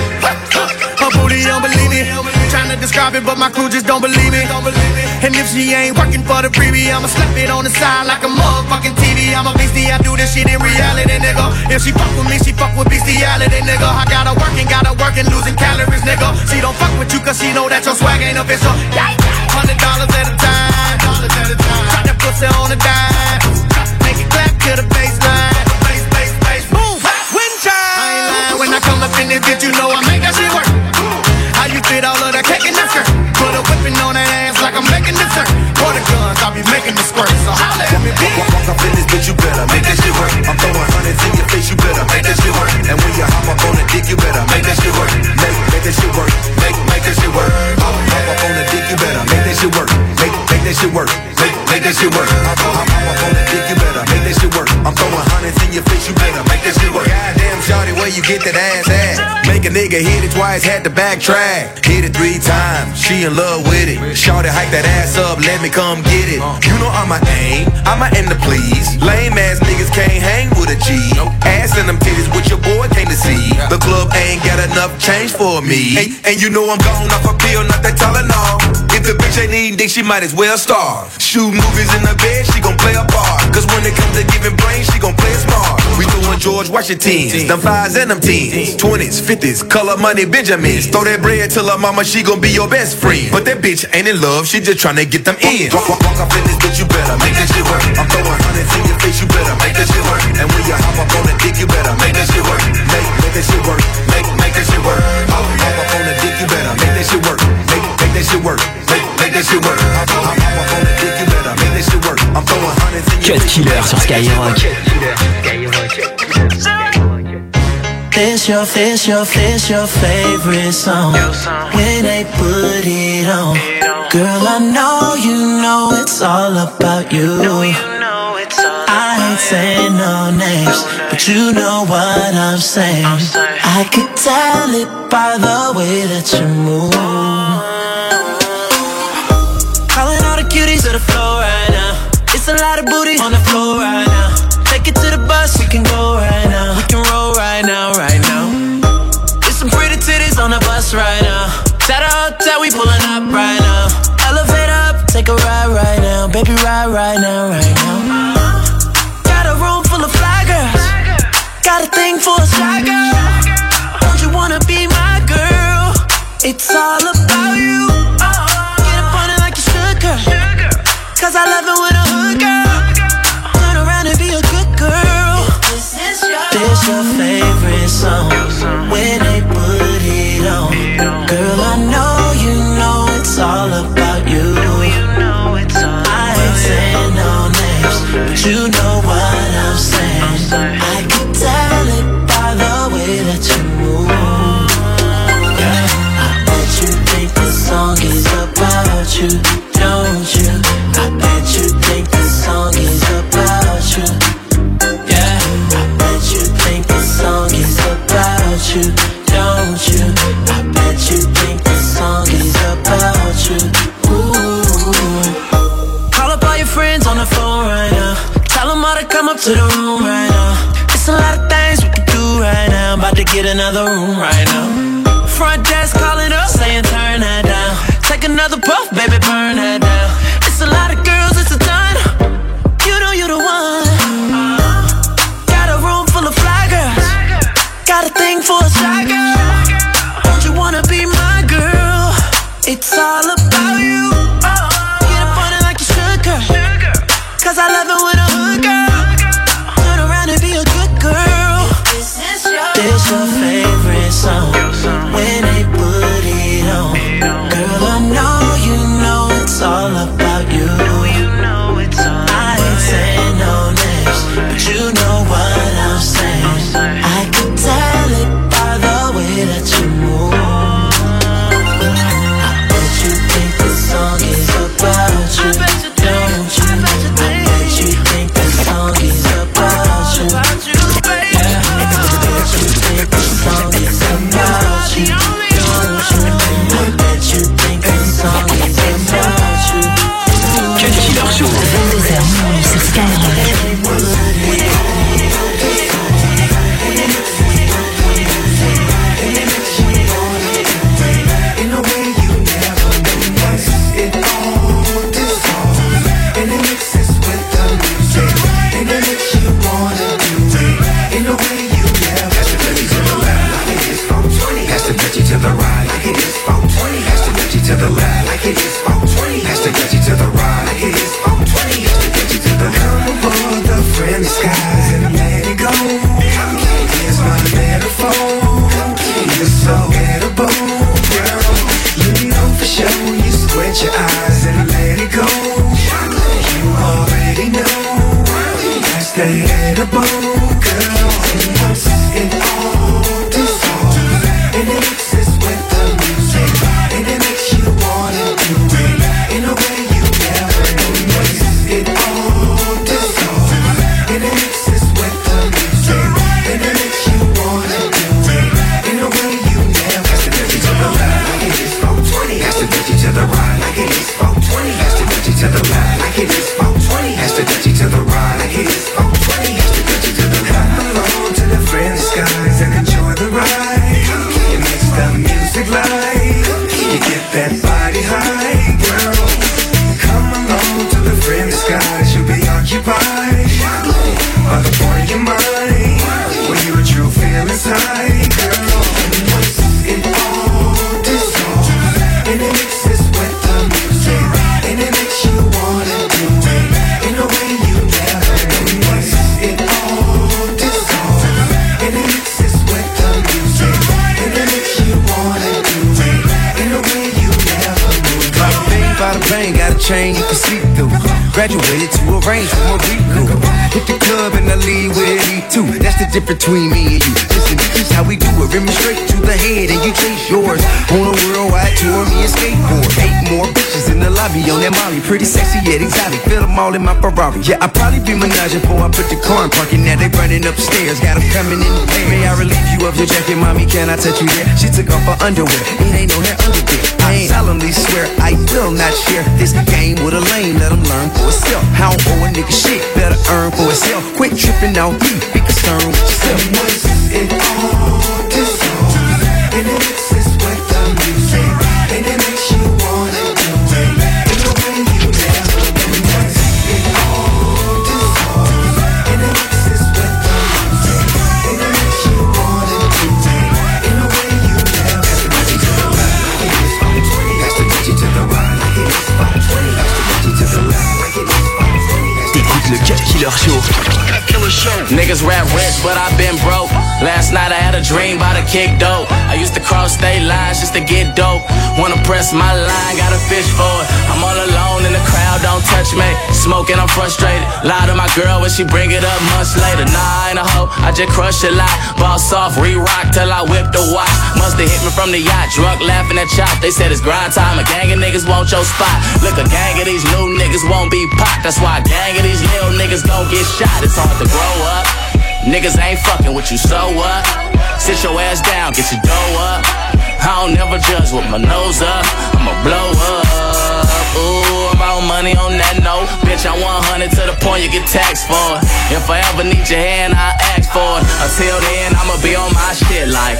Speaker 17: Her booty don't believe me. Trying to describe it, but my crew just don't believe me. And if she ain't working for the freebie, I'ma slap it on the side like a motherfucking T V. I'm a beastie, I do this shit in reality, nigga. If she fuck with me, she fuck with bestiality, nigga. I got her working, got her working, losing calories, nigga. She don't fuck with you cause she know that your swag ain't official. Hundred dollars at a time. Drop that pussy on the dime. Make it clap to the baseline. Bass, bass, bass, move. Wind chime. I ain't lying when I come up in this bitch, you know I make that shit work. How you fit all of that cake in that skirt? Put a whipping on that ass like I'm making dessert. For the guns, I'll be making the squirt. So holla at me, bitch.
Speaker 9: Walk, walk up in this bitch, you better make that shit work. I'm throwing hundreds in your face, you better make that shit work. And when you hop up on the dick, you better make that shit work. Make, make that shit work. Make, make that shit work. Hop, hop up on the dick, you better make that shit work. Make, make that shit work. Make, make that shit work. Hop, hop, hop up on the dick, you better make that shit work. I'm throwing hundreds in your face, you better make that shit work.
Speaker 6: Goddamn, shawty, where you get that ass at? Make a nigga hit it twice, had to backtrack. Hit it three times, she in love with it. Shawty, hike that ass up, let me come get it. You know I'm a aim, I'm a end to please. Lame ass niggas can't hang with a G. Ass in them titties, what your boy came to see. The club ain't got enough change for me. And, and you know I'm gone off a pill, not that Tylenol. If the bitch ain't eating dick, she might as well starve. Shoot movies in the bed, she gon' play a part. Cause when it comes to giving brain, she gon' play it smart. We doing George Washingtons, them fives and them tens, twenties, fifties, color money Benjamins. Throw that bread till her mama, she gon' be your best friend. But that bitch ain't in love, she just tryna get them in.
Speaker 9: Walk, walk, walk up in this bitch, you better make that shit work. I'm throwing hundreds in your face, you better make that shit work. And when you hop up on the dick, you better make that shit work. Make, make that shit work. Make, make that shit work. Hop, hop up on the dick, you better make that shit work. Make, make that shit work. Make, make that shit work. Hop, hop, hop up on the dick, you better make that shit work. I'm throwing hundreds in your
Speaker 12: Cut Killer sur Skyrock.
Speaker 2: This your, this your, this your favorite song. When they put it on, girl, I know you know it's all about you. I ain't saying no names, but you know what I'm saying. I could tell it by the way that you move. Calling all the cuties to the floor right now. It's a lot of booty on the floor right now. Take it to the bus, we can go right now. We can roll right now, right now. There's some pretty titties on the bus right now. At a hotel, we pulling up right now. Elevate up, take a ride right now. Baby, ride right now, right now. Got a room full of fly girls. Got a thing for a shy girl. Don't you wanna be my girl? It's all about you. Get up on it like you should, girl. Cause I love it when a hood girl. Turn around and be a good girl. This is your, this your favorite song. When they put it on, girl, I know you know it's all about you. I ain't saying no names, but you know what I'm saying. I can tell it by the way that you move. Yeah. I bet you think this song is about you, don't you? I bet you think this song is about you. Yeah. I bet you think this song is about you, don't you? I bet you think this song is about you. Ooh. Call up all your friends on the phone right now. Tell them all to come up to the room right now. It's a lot of things we can do right now. About to get another room right now. Front desk calling up, saying turn that down. Take another puff, baby, burn that down. It's a lot of girls, it's a ton. You know you the one. Got a room all about you. Get up on it like you should, girl. Cause I love it when a hood girl turn around and be a good girl. This your favorite song when they put it on. Girl, I know you know it's all about you. I ain't saying no names, but you know what I'm saying. I can tell it by the way that you move. I bet you think this song is about you, don't you? I bet you think this song is about you. Yeah, I bet you think this song is about you, don't you? I bet you think this song is about you.
Speaker 12: Cut Killer Show. vingt-deux heures minuit sur Skyrock.
Speaker 9: To the right, like it is four twenty. Has to get you to the left, like it is four twenty. Has to get you to the right, like it is four twenty. Has to get you to the come aboard the friendly skies and let it go. Here's my metaphor. You're so edible, girl. You know for sure. You squint your eyes and let it go. You already know that's the edible, girl. And once it all dissolves, and it mixes with the music, and it makes you wanna do it in a way you never knew. Once it all dissolves, and it mixes with the music, and it makes you wanna do it in a way you never. Has to get you to the left, like it is four twenty. Has to get you to the right, like it is four twenty. Has to get you to the left, like it is four twenty. Has to get you to the right, like it is four twenty. Has to get you to the left. Come along to the friendly skies and enjoy the ride. It makes the music light. You get that body high, girl. Come along to the friendly skies. You'll be occupied by the point of your mind when you're a true feelings high, girl. And once it all dissolves, and it mixes with the music, and it makes you wanna do it in a way you never knew. Once it all dissolves, and it mixes with the music, and it makes you wanna do it in a way you never knew.
Speaker 6: Bada bing, bada bang, got a chain you can see through. Graduated to a range from what we do. Hit the club and I leave with E two. That's the difference between me and you. Listen, this is how we do it. Rim straight to the head and you chase yours. On a worldwide tour, me and skateboard. Eight more bitches in the lobby on that Molly. Pretty sexy yet exotic. Feel them all in my Ferrari. Yeah, I probably be menaging before I put the car in parking. Now they running upstairs. Got them coming in the air. May I relieve you of your jacket, mommy? Can I touch you there? She took off her underwear. It ain't no hair under there. I solemnly swear I will not share this game with a lame. Let them learn for itself. How owe a nigga shit, better earn for itself. Quit tripping out me, be concerned with yourself.
Speaker 9: And once it all dissolves, and it mixes with the music, and it makes you wanna do it in a way you never knew. Once it all dissolves, and it mixes with the music, and it makes you wanna do it in a way you never. Has to get you to the left, like it is four twenty. Has to get you to the right, like it is four twenty. Has to get you to the left, like it is four twenty.
Speaker 12: T'écoutes le Cut Killer Show.
Speaker 10: Niggas rap rich, but I've been broke. Last night I had a dream about a kick dope. I used to cross state lines just to get dope. Wanna press my line, got a fish for it. I'm all alone in the crowd, don't touch me. Smoking, I'm frustrated. Lie to my girl when she bring it up months later. Nah, I ain't a hoe, I just crush a lot. Boss off, re-rock till I whip the watch. Musta hit me from the yacht, drunk laughing at chop. They said it's grind time, a gang of niggas want your spot. Look, a gang of these new niggas won't be popped. That's why a gang of these little niggas gon' get shot. It's hard to grow up. Niggas ain't fucking with you, so what? Sit your ass down, get your dough up. I don't never judge with my nose up. I'ma blow up. Ooh, I'm out money on that note. Bitch, I one hundred to the point you get taxed for it. If I ever need your hand, I ask for it. Until then, I'ma be on my shit like,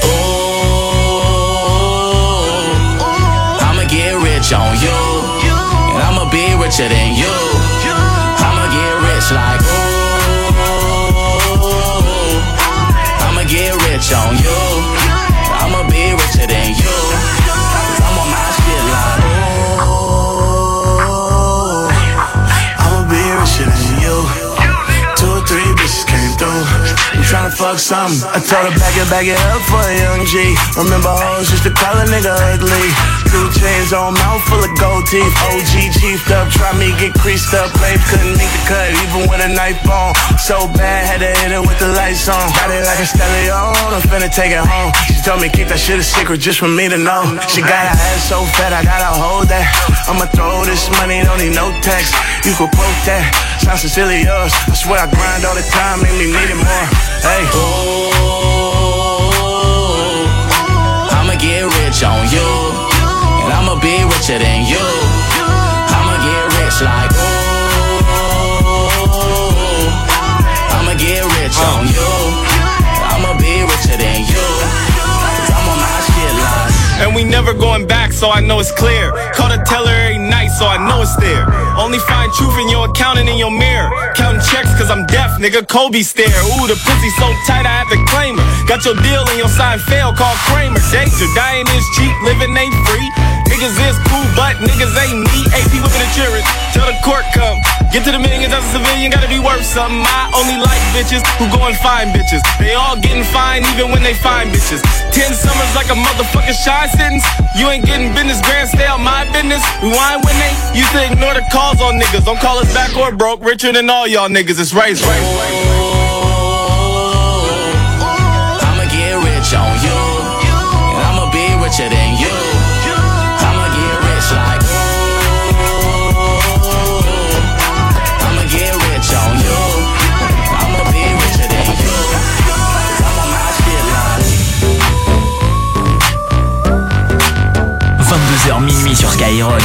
Speaker 10: ooh, I'ma get rich on you, and I'ma be richer than you. I'ma get rich like, ooh, I'ma get rich on you, I'ma be richer than you. I'm on my shit like, ooh,
Speaker 11: fuck something. I told her back it, back it up for a young G. Remember hoes used to call a nigga ugly. Two chains on, mouth full of gold teeth. O G chiefed up, try me get creased up. Blade couldn't meet the cut, even with a knife on. So bad, had to hit it with the lights on. Got it like a stallion, I'm finna take it home. She told me keep that shit a secret just for me to know. She got her ass so fat, I gotta hold that. I'ma throw this money, don't need no text. You could quote that, sounds sincerely yours. I swear I grind all the time, make me need it more. Hey.
Speaker 10: Ooh, I'ma get rich on you, and I'ma be richer than you. I'ma get rich like ooh, I'ma get rich on you, I'ma be richer than you. Cause I'm on my shit like.
Speaker 4: And we never going back, so I know it's clear. Call the teller every night, so I know it's there. Only find truth in your account and in your mirror. Counting checks cause I'm deaf, nigga, Kobe stare. Ooh, the pussy so tight I have to claim her. Got your deal and your sign fail, call Kramer. Danger, dying is cheap, living ain't free. Niggas is cool, but niggas ain't me. A P whipping insurance, till the court come. Get to the millions as a civilian, gotta be worth something. I only like bitches who go and find bitches. They all getting fined even when they find bitches. Ten summers like a motherfucking shine sentence. You ain't getting business, grand, stay on my business. Rewind when they used to ignore the calls on niggas. Don't call us back or broke, richer than all y'all niggas. It's race, race, race.
Speaker 10: I'ma get rich on you, and I'ma be richer than you. I'ma get rich like ooh, I'ma get rich on you, I'ma be richer than you. I'm on my shit like.
Speaker 12: vingt-deux heures minuit sur Skyrock.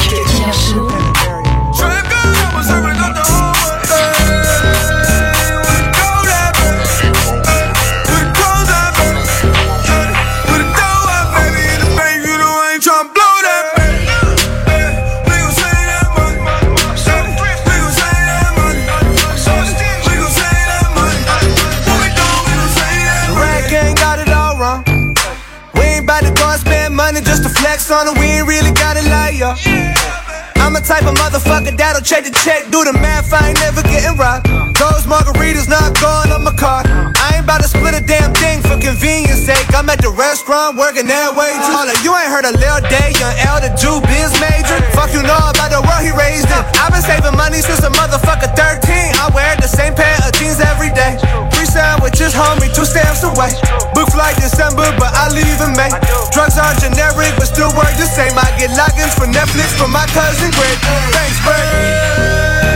Speaker 11: Just to flex on it, we ain't really gotta lie, yo. I'm a type of motherfucker that'll check the check, do the math, I ain't never getting robbed. Those margaritas not going on my card. I ain't about to split a damn thing for convenience sake. I'm at the restaurant working that way too. Hold up, you ain't heard a Lil Day, young L, the Jew, biz major. Fuck you know about the world he raised in. I've been saving money since a motherfucker thirteen. I wear the same pair of jeans every day. Three sandwiches, homie, two stamps away. Book flight December, but I leave in May. Drugs are generic, but still work the same. I get logins for Netflix from my cousin Greg. Thanks, Greg.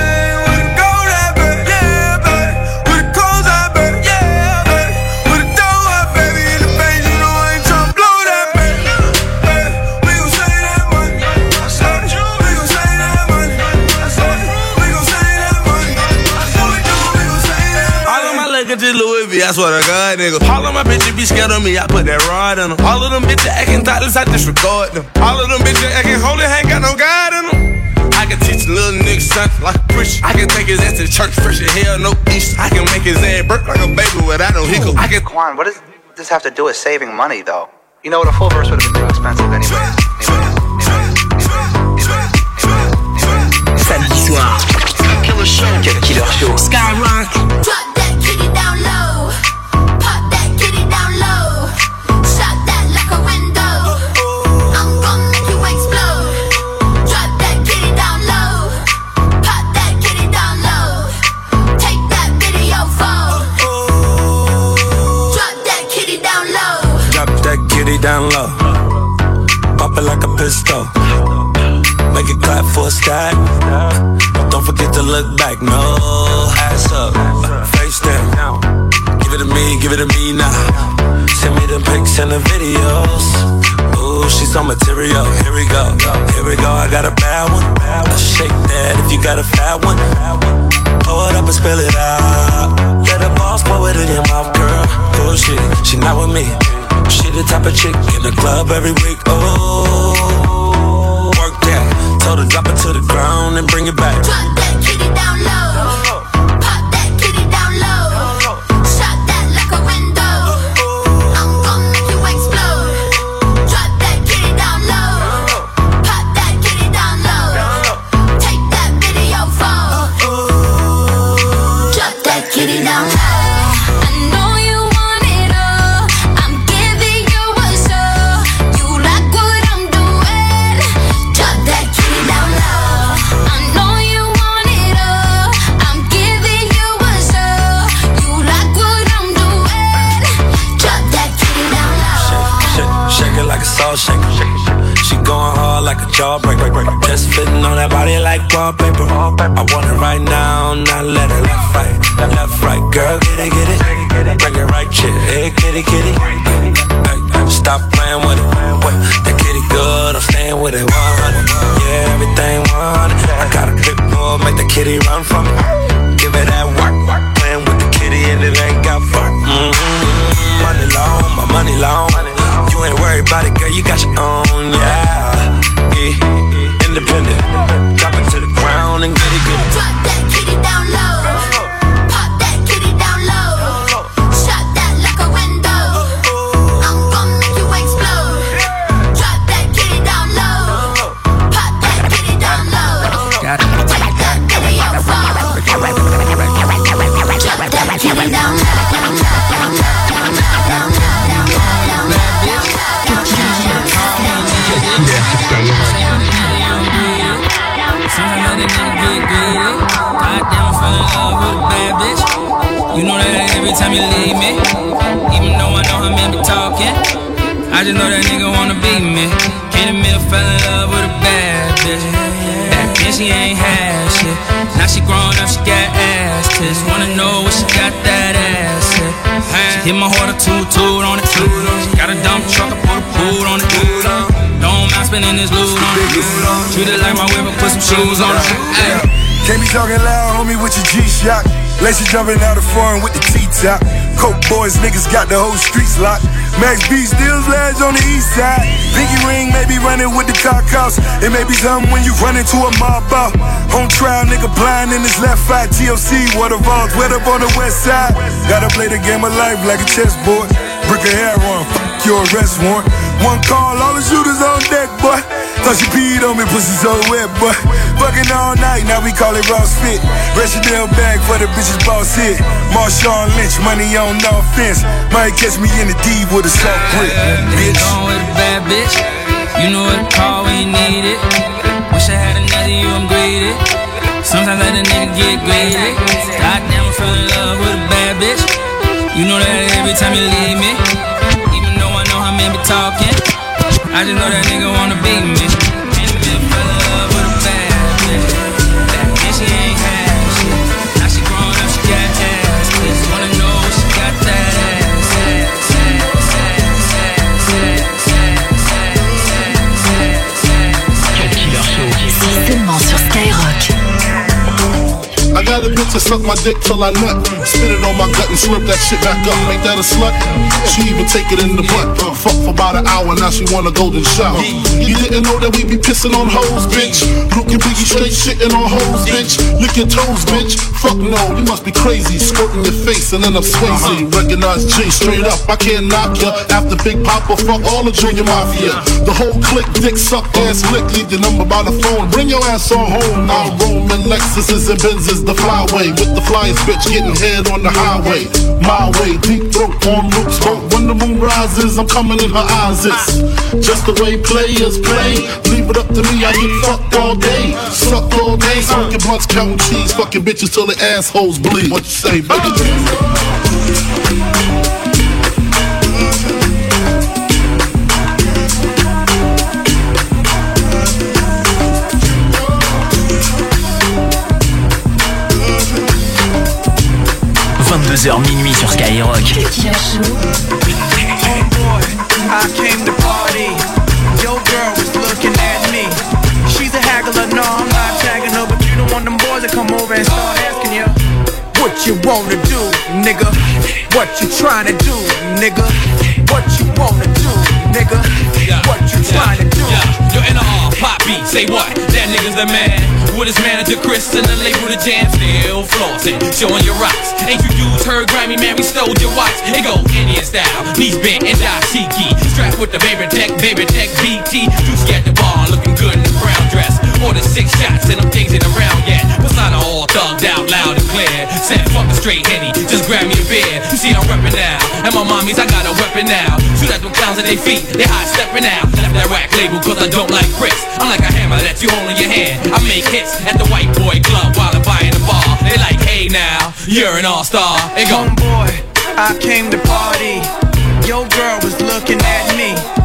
Speaker 13: Louis V, I swear to God, nigga. All of my bitches be scared of me, I put that rod in them. All of them bitches acting thoughtless, I disregard them. All of them bitches acting holy, ain't got no God in them. I can teach a little nigga something like a preacher. I can take his ass to church, fresh as hell, no Easter. I can make his ass burp like a baby without no hiccup. I can.
Speaker 23: Quan, what does this have to do with saving money, though? You know what, a full verse would have been too expensive anyways.
Speaker 12: Samedi soir. Killer Show. Killer Show. Skyrock.
Speaker 1: Drop that kitty down low. Pop that kitty down low. Shot that like a window. I'm gonna make you explode. Drop that kitty down low. Pop that kitty down low. Take that video phone. Drop that kitty down low.
Speaker 11: Drop that kitty down low. Pop it like a pistol. Make it clap for a stack. Don't forget to look back, no. Ass up, face down. Give it to me, give it to me now. Send me the pics and the videos. Ooh, she's on material. Here we go, here we go. I got a bad one. Let's shake that if you got a fat one. Pour it up and spill it out. Let the boss pour it in your mouth, girl. Oh shit, she not with me. She the type of chick in the club every week. Oh, work that. Told her drop it to the ground and bring it back.
Speaker 1: Drop that kitty down low. Pop that kitty down low. Shot that like a window. I'm gonna make you explode. Drop that kitty down low. Pop that kitty down low. Take that video phone. Drop that kitty down low. I know you want it.
Speaker 13: Just fitting on that body like wallpaper. I want it right now, not let it left, right. Left, right, girl, get it, get it. Bring it right, shit, hey, kitty, kitty. Hey, stop playing with it. Wait, that kitty good, I'm staying with it. one hundred, yeah, everything one hundred. I got a big bull, make the kitty run from me. Give it that work, playing with the kitty and it ain't got fun. Mm-hmm. Money long, my money long. You ain't worried about it, girl, you got your own, yeah. Yeah, independent. Drop it to the ground and get it, get it.
Speaker 1: Drop that kitty down low. Pop that kitty down low. Shut that like a window. I'm gon' make you explode. Drop that kitty down low. Pop that kitty down low.
Speaker 2: Got it.
Speaker 1: Take that kitty out far. Drop that kitty down low.
Speaker 2: You know that every time you leave me, even though I know how men be talking, I just know that nigga wanna be me. Candy Mill fell in love with a bad bitch. Back then she ain't had shit. Now she grown up, she got ass tits. Wanna know what she got that ass at. She hit my heart a toot-toot on it. She got a dump truck, I put a boot on it. Don't mind spending this loot on it. Treat it like my whip, put some shoes on it. Ay.
Speaker 7: Can't be talking loud, homie, with your G-Shock. Lacy jumping out of foreign with the T-top. Coke boys, niggas got the whole streets locked. Max B steals lads on the east side. Pinky ring may be running with the cock house. It may be something when you run into a mob out. On trial, nigga blind in his left eye. T L C, waterfalls, wet up on the west side. Gotta play the game of life like a chessboard. Brick of hair on, fuck your arrest warrant. One call, all the shooters on deck, boy. Thought she peed on me, pussy so wet, boy. Fucking all night, now we call it Ross Fit. Chanel bag for the bitches boss hit. Marshawn Lynch, money on no offense. Might catch me in the D with a soft grip, bitch.
Speaker 2: Gone with a bad bitch. You know what to call when you need it. Wish I had another you, I'm greedy. Sometimes let a nigga get greedy. Goddamn, I fell in love with a bad bitch. You know that every time you leave me, even though I know how men be talking, I just know that nigga wanna be me. Can't even fall in love with a bad bitch. Back then she ain't had shit. Now she grown up, she got ass. Kids wanna know what she got that ass. ass, ass, ass, ass, ass, ass, ass, ass, ass.
Speaker 12: Killer Show. Seulement sur Skyrock.
Speaker 19: I got a bitch to suck my dick till I nut. Spit it on my gut and slurp that shit back up. Ain't that a slut? She even take it in the butt. Fuck for about an hour, now she want a golden shower. You didn't know that we be pissing on hoes, bitch. Luke and Biggie straight shitting on hoes, bitch. Lick your toes, bitch. Fuck no, you must be crazy. Squirting your face and then I'm Swayze. Recognize G straight up, I can't knock ya. After Big Papa, fuck all the Junior Mafia. The whole clique, dick suck, ass lick. Leave the number by the phone, bring your ass on home. Now Roman Lexuses and Benzes, the flyway. With the flyest bitch getting head on the highway. My way, deep throat on loop smoke. When the moon rises, I'm coming in her eyes. It's just the way players play. Leave it up to me, I get fucked all day. Sucked all day, smoking blunts, counting cheese. Fucking bitches till the assholes bleed. What you say, baby?
Speaker 12: vingt-deux heures minuit sur Skyrock.
Speaker 18: I came to party. Your girl was looking at me. She's a haggler, no, I'm not tagging her, but you don't want them boys to come over and start asking you what you wanna do, nigga. What you trying to do, nigga. What you wanna do, nigga. What you trying to do.
Speaker 20: Yo, N R, Pop B, say what? That nigga's the man. With his manager Chris and the label The Jam, still flossing, showing your rocks. Ain't you dudes heard Grammy, man, we stole your watch. It go Indian style, knees bent and dashiki. Strapped with the baby tech, baby tech B T. Juicy at the bar, looking good in the brown dress. Ordered six shots and them things ain't around yet. Persona all thugged out, loud and clear. Said fuck the straight Henny, just grab me a beer. You see I'm reppin' now, and my mommies, I got a weapon now. Shoot at them clowns at their feet, they high steppin' out. Left that rack label cause I don't like bricks. I'm like a hammer that you hold in your hand. I make hits at the white boy club while I'm buying the bar. They like, hey now, you're an all-star. They go,
Speaker 18: homeboy, I came to party. Your girl was looking at me. She's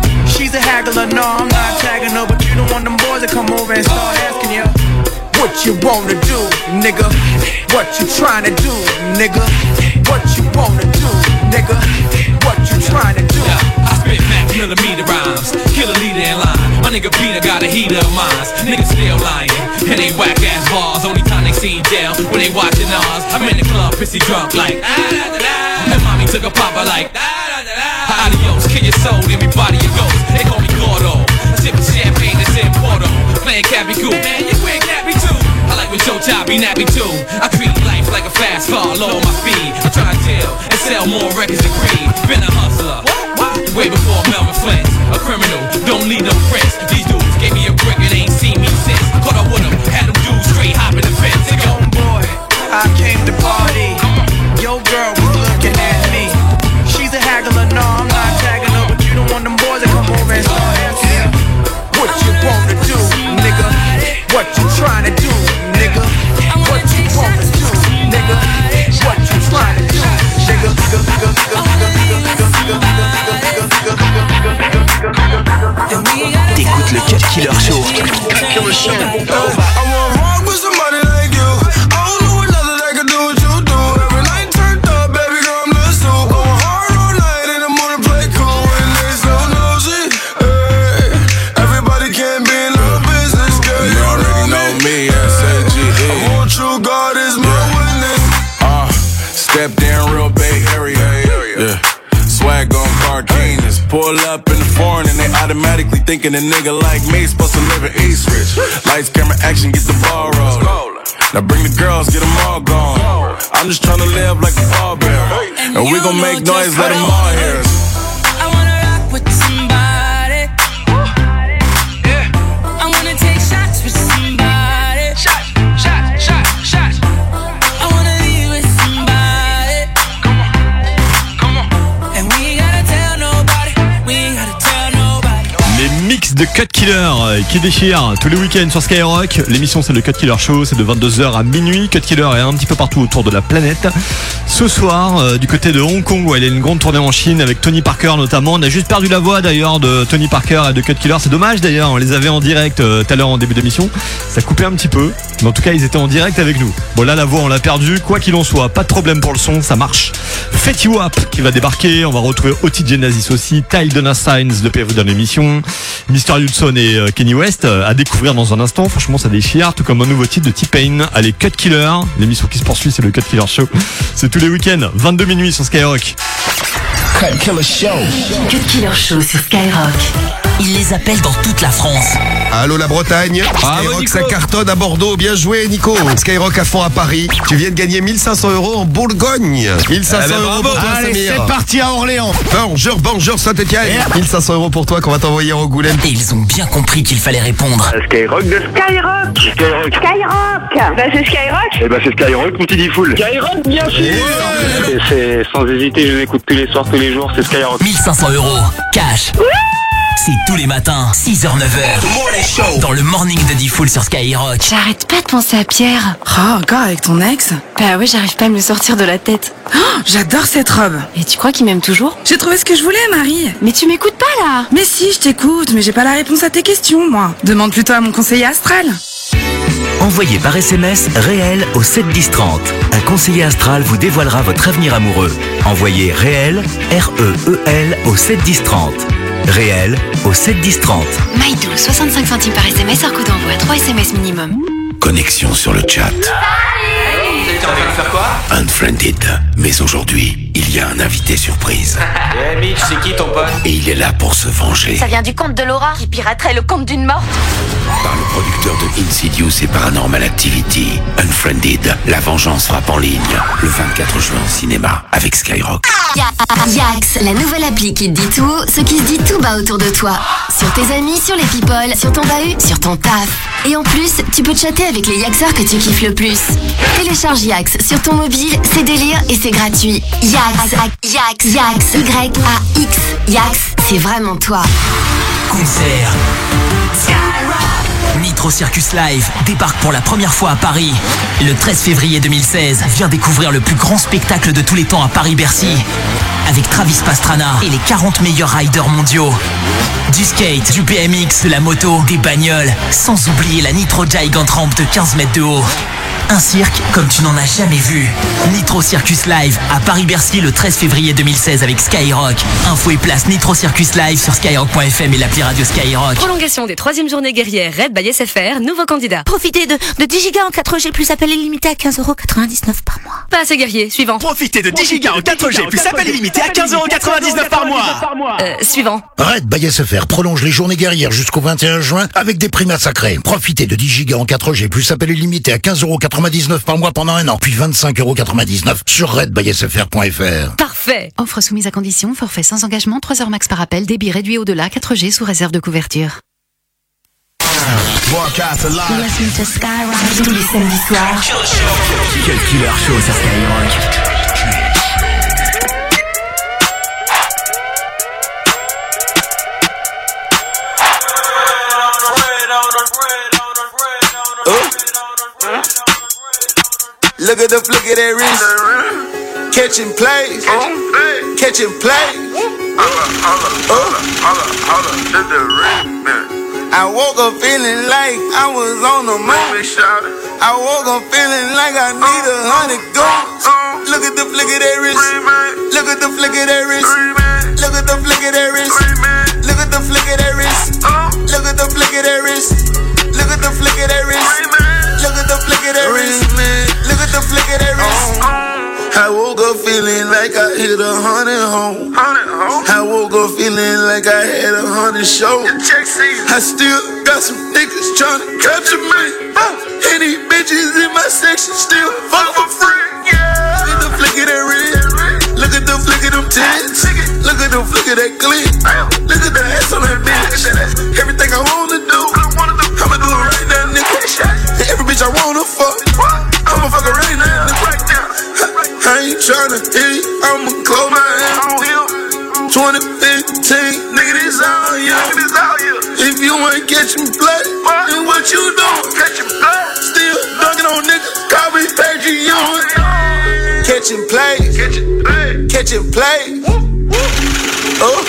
Speaker 18: She's a haggler, no, I'm not tagging her, but you don't want them boys to come over and start asking you what you wanna do, nigga. What you tryna do, nigga. What you wanna do, nigga. What you tryna do.
Speaker 20: Yeah, I spit max millimeter rhymes, kill a leader in line. My nigga Peter got a heater of mines. Niggas still lying, and they whack ass bars. Only time they see jail when they watching ours. I'm in the club, pissy drunk like ah, da, da, da. And mommy took a popper like ah, da, da, da. Adios, kill your soul, everybody you ghost. They call me Gordo, sipping champagne that's in Porto. Playing Cappy Cool, man, you ain't Cappy too. I like when Joe Chop be nappy too. I treat life like a fast car, lower my speed. I try to tell and sell more records than Creed. Been a hustler, way before Melvin Flint. A criminal, don't need no friends. These dudes gave me a brick and ain't seen me since. Caught up with them, had them dudes straight hopping the fence. They go,
Speaker 18: boy, I came to party. Your girl was looking at me. She's a haggler, no, I'm not tagging her, but you don't want them boys to come over and start asking you what you wanna do, nigga. What you tryna do, nigga. What you wanna do, nigga. What you tryna do, nigga.
Speaker 12: T'écoutes le Cut Killer Show.
Speaker 13: Step down real Bay Area, yeah. Swag on Cardenas. Pull up in the foreign and they automatically thinking a nigga like me supposed to live in East Ridge. Lights, camera, action, get the ball rolling. Now bring the girls, get them all gone. I'm just tryna live like a ballbearer, and we gon' make noise, let them all hear us.
Speaker 2: I wanna rock with somebody. Yeah. I wanna take shots with somebody. Shots, shots, shots, shots. I wanna leave with somebody. Come on, come on. And we ain't gotta tell nobody. We ain't gotta tell nobody.
Speaker 5: Les mix de Cut Killer qui déchirent tous les week-ends sur Skyrock. L'émission c'est le Cut Killer Show, c'est de vingt-deux heures à minuit. Cut Killer est un petit peu partout autour de la planète. Ce soir, euh, du côté de Hong Kong, où il y a une grande tournée en Chine avec Tony Parker notamment. On a juste perdu la voix d'ailleurs de Tony Parker et de Cut Killer. C'est dommage d'ailleurs, on les avait en direct euh, tout à l'heure en début d'émission. Ça coupait un petit peu, mais en tout cas ils étaient en direct avec nous. Bon là la voix on l'a perdue, quoi qu'il en soit, pas de problème pour le son, ça marche. Fetty Wap qui va débarquer, on va retrouver O T Genesis aussi, Ty Dolla Signs de P F dans l'émission, Mister Hudson et euh, Kenny West euh, à découvrir dans un instant. Franchement ça déchire, tout comme un nouveau titre de T-Pain. Allez, Cut Killer, l'émission qui se poursuit c'est le Cut Killer Show. C'est tous les week-ends, vingt-deux minuit sur Skyrock.
Speaker 12: Cut Killer Show. Cut Killer Show sur Skyrock. Ils les appellent dans toute la France.
Speaker 14: Allô la Bretagne, Skyrock ça cartonne à Bordeaux, bien joué Nico. Skyrock à fond à Paris, tu viens de gagner mille cinq cents euros en Bourgogne. mille cinq cents euros pour toi
Speaker 8: Allez,
Speaker 14: Samir.
Speaker 8: c'est parti à Orléans.
Speaker 14: Bonjour, bonjour Saint-Etienne. mille cinq cents euros pour toi qu'on va t'envoyer en Angoulême.
Speaker 12: Et ils ont bien compris qu'il fallait répondre.
Speaker 15: Skyrock de
Speaker 24: Skyrock.
Speaker 15: Skyrock.
Speaker 24: Skyrock. Bah c'est Skyrock.
Speaker 15: Eh bah c'est Skyrock, mon petit full.
Speaker 24: Skyrock bien sûr.
Speaker 15: Et c'est sans hésiter, je l'écoute tous les soirs, tous les jours, c'est Skyrock.
Speaker 12: mille cinq cents euros, cash. C'est tous les matins, six heures neuf heures. Dans le morning de D-Fool sur Skyrock.
Speaker 25: J'arrête pas de penser à Pierre.
Speaker 26: Oh, encore avec ton ex?
Speaker 25: Bah ouais, j'arrive pas à me le sortir de la tête.
Speaker 26: Oh, j'adore cette robe.
Speaker 25: Et tu crois qu'il m'aime toujours?
Speaker 26: J'ai trouvé ce que je voulais, Marie.
Speaker 25: Mais tu m'écoutes pas là.
Speaker 26: Mais si, je t'écoute, mais j'ai pas la réponse à tes questions, moi. Demande plutôt à mon conseiller astral.
Speaker 27: Envoyez par S M S réel au sept dix trente. Un conseiller astral vous dévoilera votre avenir amoureux. Envoyez réel, R E E L au sept dix trente. Réel au sept dix trente.
Speaker 25: Maïdou, soixante-cinq centimes par S M S, hors coût d'envoi, trois S M S minimum.
Speaker 22: Connexion sur le chat.
Speaker 3: T'es en train de faire quoi?
Speaker 22: Unfriended. Mais aujourd'hui, il y a un invité surprise.
Speaker 3: Eh Mitch, c'est qui ton pote?
Speaker 22: Et il est là pour se venger.
Speaker 24: Ça vient du compte de Laura qui piraterait le compte d'une morte.
Speaker 22: Par le producteur de Insidious et Paranormal Activity, Unfriended, la vengeance frappe en ligne. Le vingt-quatre juin au cinéma avec Skyrock.
Speaker 25: Yax, la nouvelle appli qui te dit tout, ce qui se dit tout bas autour de toi. Sur tes amis, sur les people, sur ton bahut, sur ton taf. Et en plus, tu peux chatter avec les Yaxeurs que tu kiffes le plus. Télécharge Yax sur ton mobile, c'est délire et c'est gratuit. Yax, Yax, Yax, Y A X, Yax, c'est vraiment toi.
Speaker 12: Concert. Skyrock. Nitro. Nitro Circus Live débarque pour la première fois à Paris. Le treize février deux mille seize, viens découvrir le plus grand spectacle de tous les temps à Paris-Bercy. Avec Travis Pastrana et les quarante meilleurs riders mondiaux. Du skate, du B M X, de la moto, des bagnoles, sans oublier la Nitro Gigant Ramp de quinze mètres de haut. Un cirque comme tu n'en as jamais vu. Nitro Circus Live à Paris-Bercy le treize février deux mille seize avec Skyrock. Info et place Nitro Circus Live sur skyrock point f m et l'appli radio Skyrock.
Speaker 4: Prolongation des troisième journées guerrières Red by S F R, nouveau candidat.
Speaker 9: Profitez de, de dix gigas en quatre G plus appel illimité à quinze euros quatre-vingt-dix-neuf par mois.
Speaker 4: Pas assez guerrier, suivant.
Speaker 6: Profitez de dix gigas en quatre G plus appel illimité à quinze euros quatre-vingt-dix-neuf par mois.
Speaker 4: Euh, suivant.
Speaker 10: Red by S F R prolonge les journées guerrières jusqu'au vingt et un juin avec des prix massacrés. Profitez de dix gigas en quatre G plus appel illimité à quinze euros quatre-vingt-dix-neuf par mois pendant un an, puis vingt-cinq euros quatre-vingt-dix-neuf sur red by s f r point f r.
Speaker 4: Parfait.
Speaker 16: Offre soumise à condition, forfait sans engagement, trois heures max par appel, débit réduit au-delà, quatre G sous réserve de couverture.
Speaker 25: Tous les samedis soirs.
Speaker 12: Cut Killer Show sur Skyrock.
Speaker 17: Look at the flick of that wrist. Catching plays. Catching plays. I woke up feeling like I was on the moon. I woke up feeling like I need a hundred goons. Look at the flick of that wrist. Look at the flick of that wrist. Look at the flick of that wrist. Look at the flick of that wrist. Look at the flick of that wrist. Look at the flick of that wrist. Look at the flick of that wrist. Look at the flick of that wrist. I woke up feeling like I hit a hundred home. I woke up feeling like I had a hundred shows. I still got some niggas tryna capture me. And these bitches in my section still fuck for free. Look at the flick of that wrist. Look at the flick of them tits. Look at the flick of that clip. Look at the ass on that bitch. Everything I wanna do, I'ma do it right now, nigga. Every bitch I wanna fuck, I'ma fuck her right now. I ain't tryna hit, I'ma close my eyes. twenty fifteen, nigga, this all you. If you ain't catching play, then what you doing? Still dunking on niggas, call me Patreon. Catching plays, catching plays. Oh.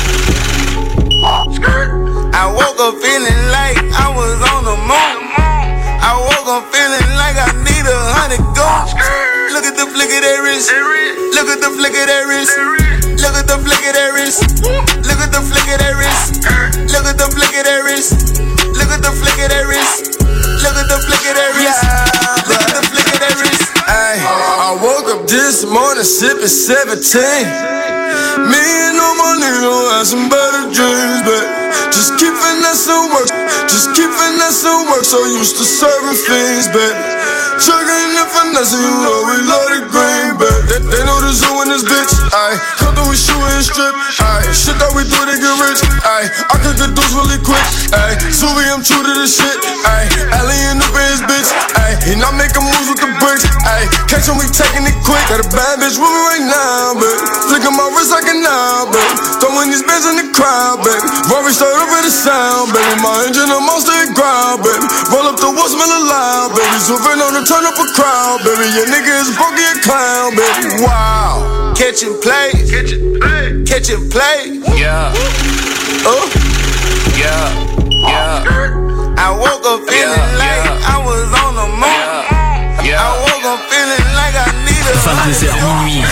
Speaker 17: I woke up feeling like I was on the moon. I woke up feeling like I need a hundred goons. Look at the flick of that wrist. Look at the flick of that wrist. Look at the flick of that wrist. Look at the flick of that wrist. Look at the flick of that wrist. Look at the flick of that wrist. Look at the flick of that wrist. Look at the flick of that wrist. Ay, I woke up this morning sipping seventeen. Me and all my niggas had some better dreams, but just keep finessing work. Just keep finessing work. So used to serving fiends, baby. Chugging and finessing, you know we love the green, baby. They, they know the zoo in this bitch. Ayy, come through, we shoot and strip. Ayy, shit that we do to get rich. Ayy, I cook the dudes really quick. Ayy, Suvi, I'm true to this shit. Ayy, alien up in his bitch. Ayy, and I'm making moves with the bricks. Ayy, catch him, we taking it quick. Got a bad bitch with me right now, baby. Flicking my wrist like a now, baby. Throwing these bands in the crowd, baby. Rory start up with the sound, baby. My engine, I'm on steady ground, baby. Roll up the woods, smell alive, baby. Swerving on the turn up a crowd, baby. Your nigga is broke, he a clown, baby. Wow. Catching plays. Catching plays. Catching plays. Yeah. Oh. Yeah. Yeah. I woke up feeling yeah, like yeah. I was on the moon. Yeah. Yeah. I woke up feeling like I need a
Speaker 12: vingt-deux heures minuit.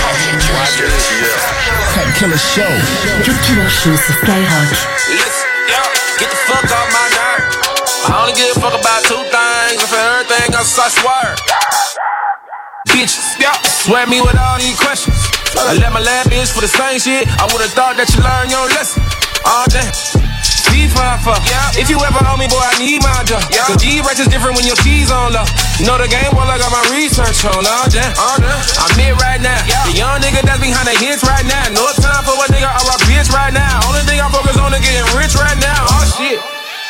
Speaker 25: Cut Killer Show. Cut Killer Show sur Skyrock.
Speaker 13: Listen, yo, get the fuck off my nerve. I only give a fuck about two things, and for everything else I swear. Bitches, yeah, swear me with all these questions. I let my lab bitch for the same shit. I would've thought that you learned your lesson. Oh damn. G five fuck. Yeah. If you ever owe me, boy, I need my job. Yeah. Cause G-Rex is different when your cheese on low. You know the game, well, I got my research on. Oh damn. Oh damn. I'm here right now. Yeah. The young nigga that's behind the hits right now. No time for a nigga I rock bitch right now. Only thing I focus on is getting rich right now. Oh shit.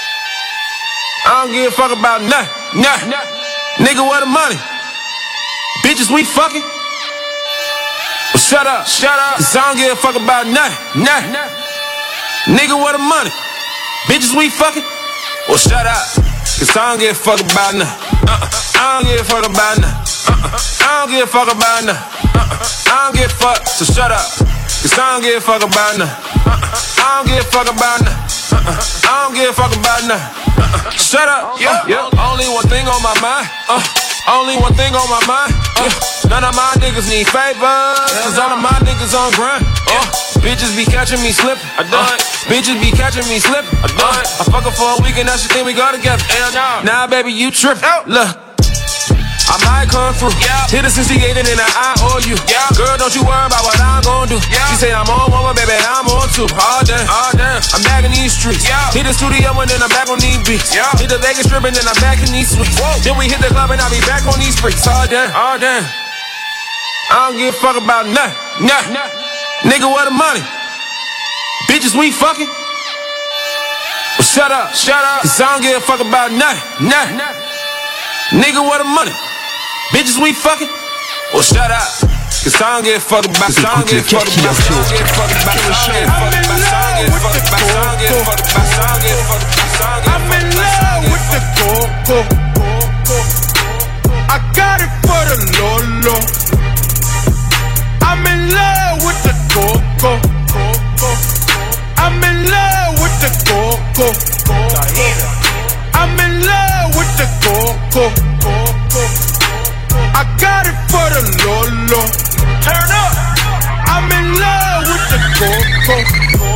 Speaker 13: I don't give a fuck about nothing. Nothing. Nigga, where the money? Bitches, we fucking. Well, shut up. Shut up. Cause I don't give a fuck about nothing. Nothing. Nigga, where the money? Bitches, we fucking. Well, shut up. Cause I don't give a fuck about nothing. Uh-uh. I don't give a fuck about nothing. Uh-uh. I don't give a fuck about nothing. Uh-uh. I don't give a fuck, so shut up. Cause I don't give a fuck about nothing. Uh-uh. I don't give a fuck about nothing. Uh-uh. I don't give a fuck about nothing. Uh-uh. Shut up. Yeah. Yeah. Only one thing on my mind. Uh. Only one thing on my mind. Uh. None of my niggas need favors. Cause all of my niggas on grind. Uh. Bitches be catching me slipping. I done. Uh. Bitches be catching me slipping. I done. I fuck her for a week and now she think we go together. Hell no. Now baby you trippin'. Look, I might come through. Yeah. Hit her sixty-eight and then I owe you. Yeah. Girl, don't you worry about what I'm gon' do. Yeah. She say I'm on one, baby, I'm on two. All day, all day. I'm back in these streets. Yeah. Hit the studio and then I'm back on these beats. Yeah. Hit the Vegas strip and then I'm back in these suites. Whoa. Then we hit the club and I'll be back on these freaks. All day, all day. I don't give a fuck about nothing. Nah. Nah. Nigga, where the money? Bitches, we fucking. Well, shut up, shut up. Cause I don't give a fuck about nothing. Nah. Nah. Nigga, where the money? Bitches, we fucking. Well, shut up. Cause I don't give a fuck about. Cause I don't give a fuck about. I don't give a fuck about. I don't give a fuck about. I don't give a fuck about. I don't give a fuck about. I don't give a fuck about. I'm in love with the coco. I got it for the Lolo. I'm in love with the coco. I'm in love with the coco. I'm in love with the coco. I got it for the Lolo. Turn up. I'm in love with the coco.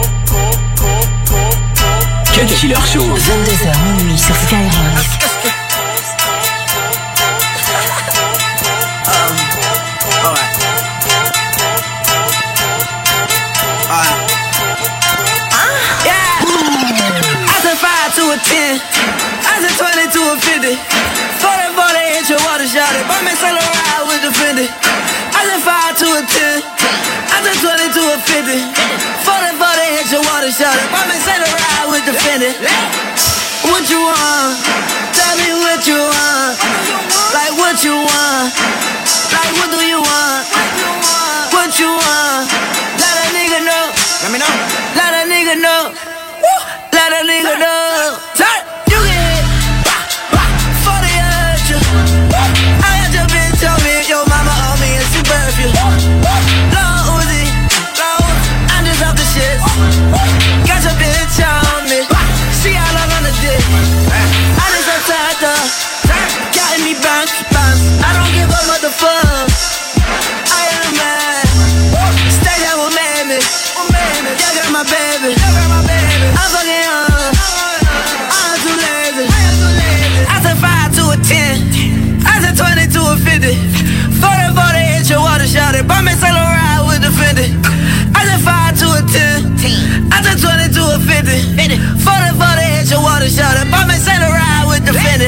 Speaker 27: Cut Killer Show.
Speaker 9: vingt-deux heures minuit sur Skyrock.
Speaker 2: To a ten, I said twenty to a fifty. forty, forty, hit your water shot it. Buy me Saint Laurent with the Fendi. I said five to a ten, I said twenty to a fifty. forty, forty, hit your water shot it. Buy me Saint Laurent with the Fendi. What you want? Tell me what you want. Like what you want? Like what do you want? What you want? Let a nigga know. Let me know. Let a nigga know. Let a nigga know. You get hit for the urge. I had your bitch on me, your mama on me, and she perfume. Lil Uzi, Lil Uzi, I'm just off the shit. Got your bitch on me, she all up on the dick. I just attacked her, got me bounce, bounce. I don't give a motherfucker. I am mad. Stay down with Mammy. Y'all got my baby. I'm fucking up. I'm too lazy. I said five to a ten. I said twenty to a fifty. forty, forty, hit your water shot it. Buy me Saint Laurent with the Fendi. I said five to a ten. I said twenty to a fifty. forty, forty, hit your water shot it. Buy me Saint Laurent with the Fendi.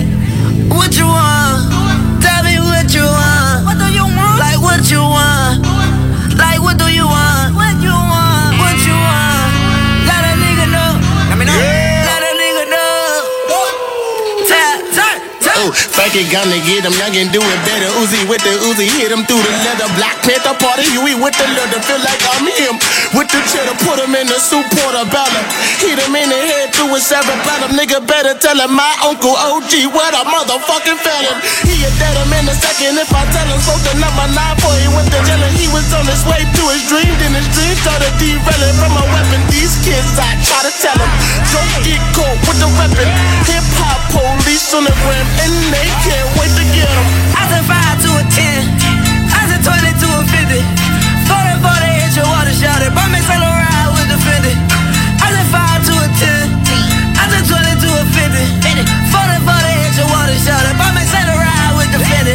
Speaker 2: What you want? Tell me what you want. What do you want? Like what you want? Like what do you want? What you want? What you want? Let a nigga know. Let me know. Yeah. Let a nigga know. Tap, tap, tap.
Speaker 8: Oh, fuck it, gonna get him, y'all can do it better. Uzi with the Uzi, hit him through the leather. Black Panther party, Huey with the leather. Feel like I'm him. With the cheddar, put him in the soup portobello. Hit him in the head through a cerebellum. Nigga better tell him my uncle O G what a motherfucking felon. He a dead him in a second if I tell him. Spoke the number nine boy, he went to jail and he was on his way to his dream. Then his dream started derailing from a weapon. These kids, I try to tell them, don't get caught with the weapon. Hip hop police on the rim and they can't wait to get him.
Speaker 2: I said five to a ten. I said twenty to a fifty. forty, forty, hit your water shot it. Buy me Saint Laurent with the Fendi. I said five to a ten. I said twenty to a fifty. forty, forty, hit your water shot it. Buy me Saint Laurent with the Fendi.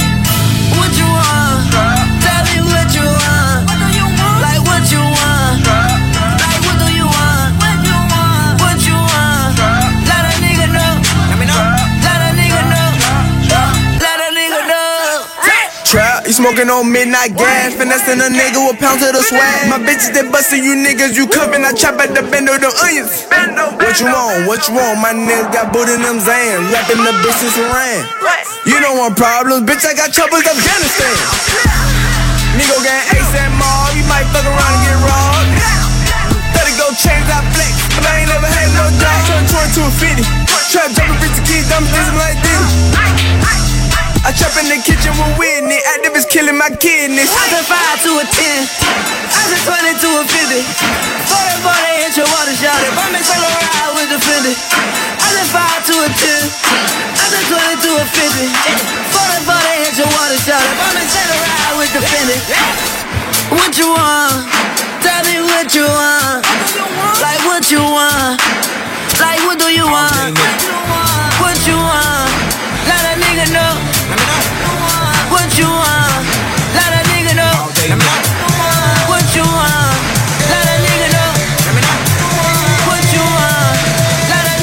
Speaker 2: What you want? Tell me what you want. Like what you want? Like what do you want? What you want? What you want? Let a nigga know. Let me know. Let a nigga know. Let a nigga know.
Speaker 18: Trap, you smoking on midnight gas, finessing a nigga with pounds of the swag. My bitches they bustin' you niggas, you cuffin', I chop at the bend of the onions. What you want? What you want? My niggas got boot in them Zans, rapping the bitches around. You don't want problems, bitch. I got troubles, Afghanistan. Nigga gang ASAP Mob, you might fuck around and get robbed. thirty go chains, I flex, but I ain't never had no job. Turn twenty to a fifty. Trap jumping, rich kids, dumb things like this. I trap in the kitchen with Whitney. Activists killing my kidneys.
Speaker 2: I said five to a ten. I said twenty to a fifty. forty, forty, hit your water shot it. Bump me solo ride with the Fendi. I said five to a ten. I said twenty to a fifty. forty, forty, hit your water shot it. Bump me solo ride with the Fendi. What you want? Tell me what you want. Like what you want. Like what do you want? What you want? Let a nigga know. What you want? Let a nigga know. What you want? Let a nigga know. What you want? Let a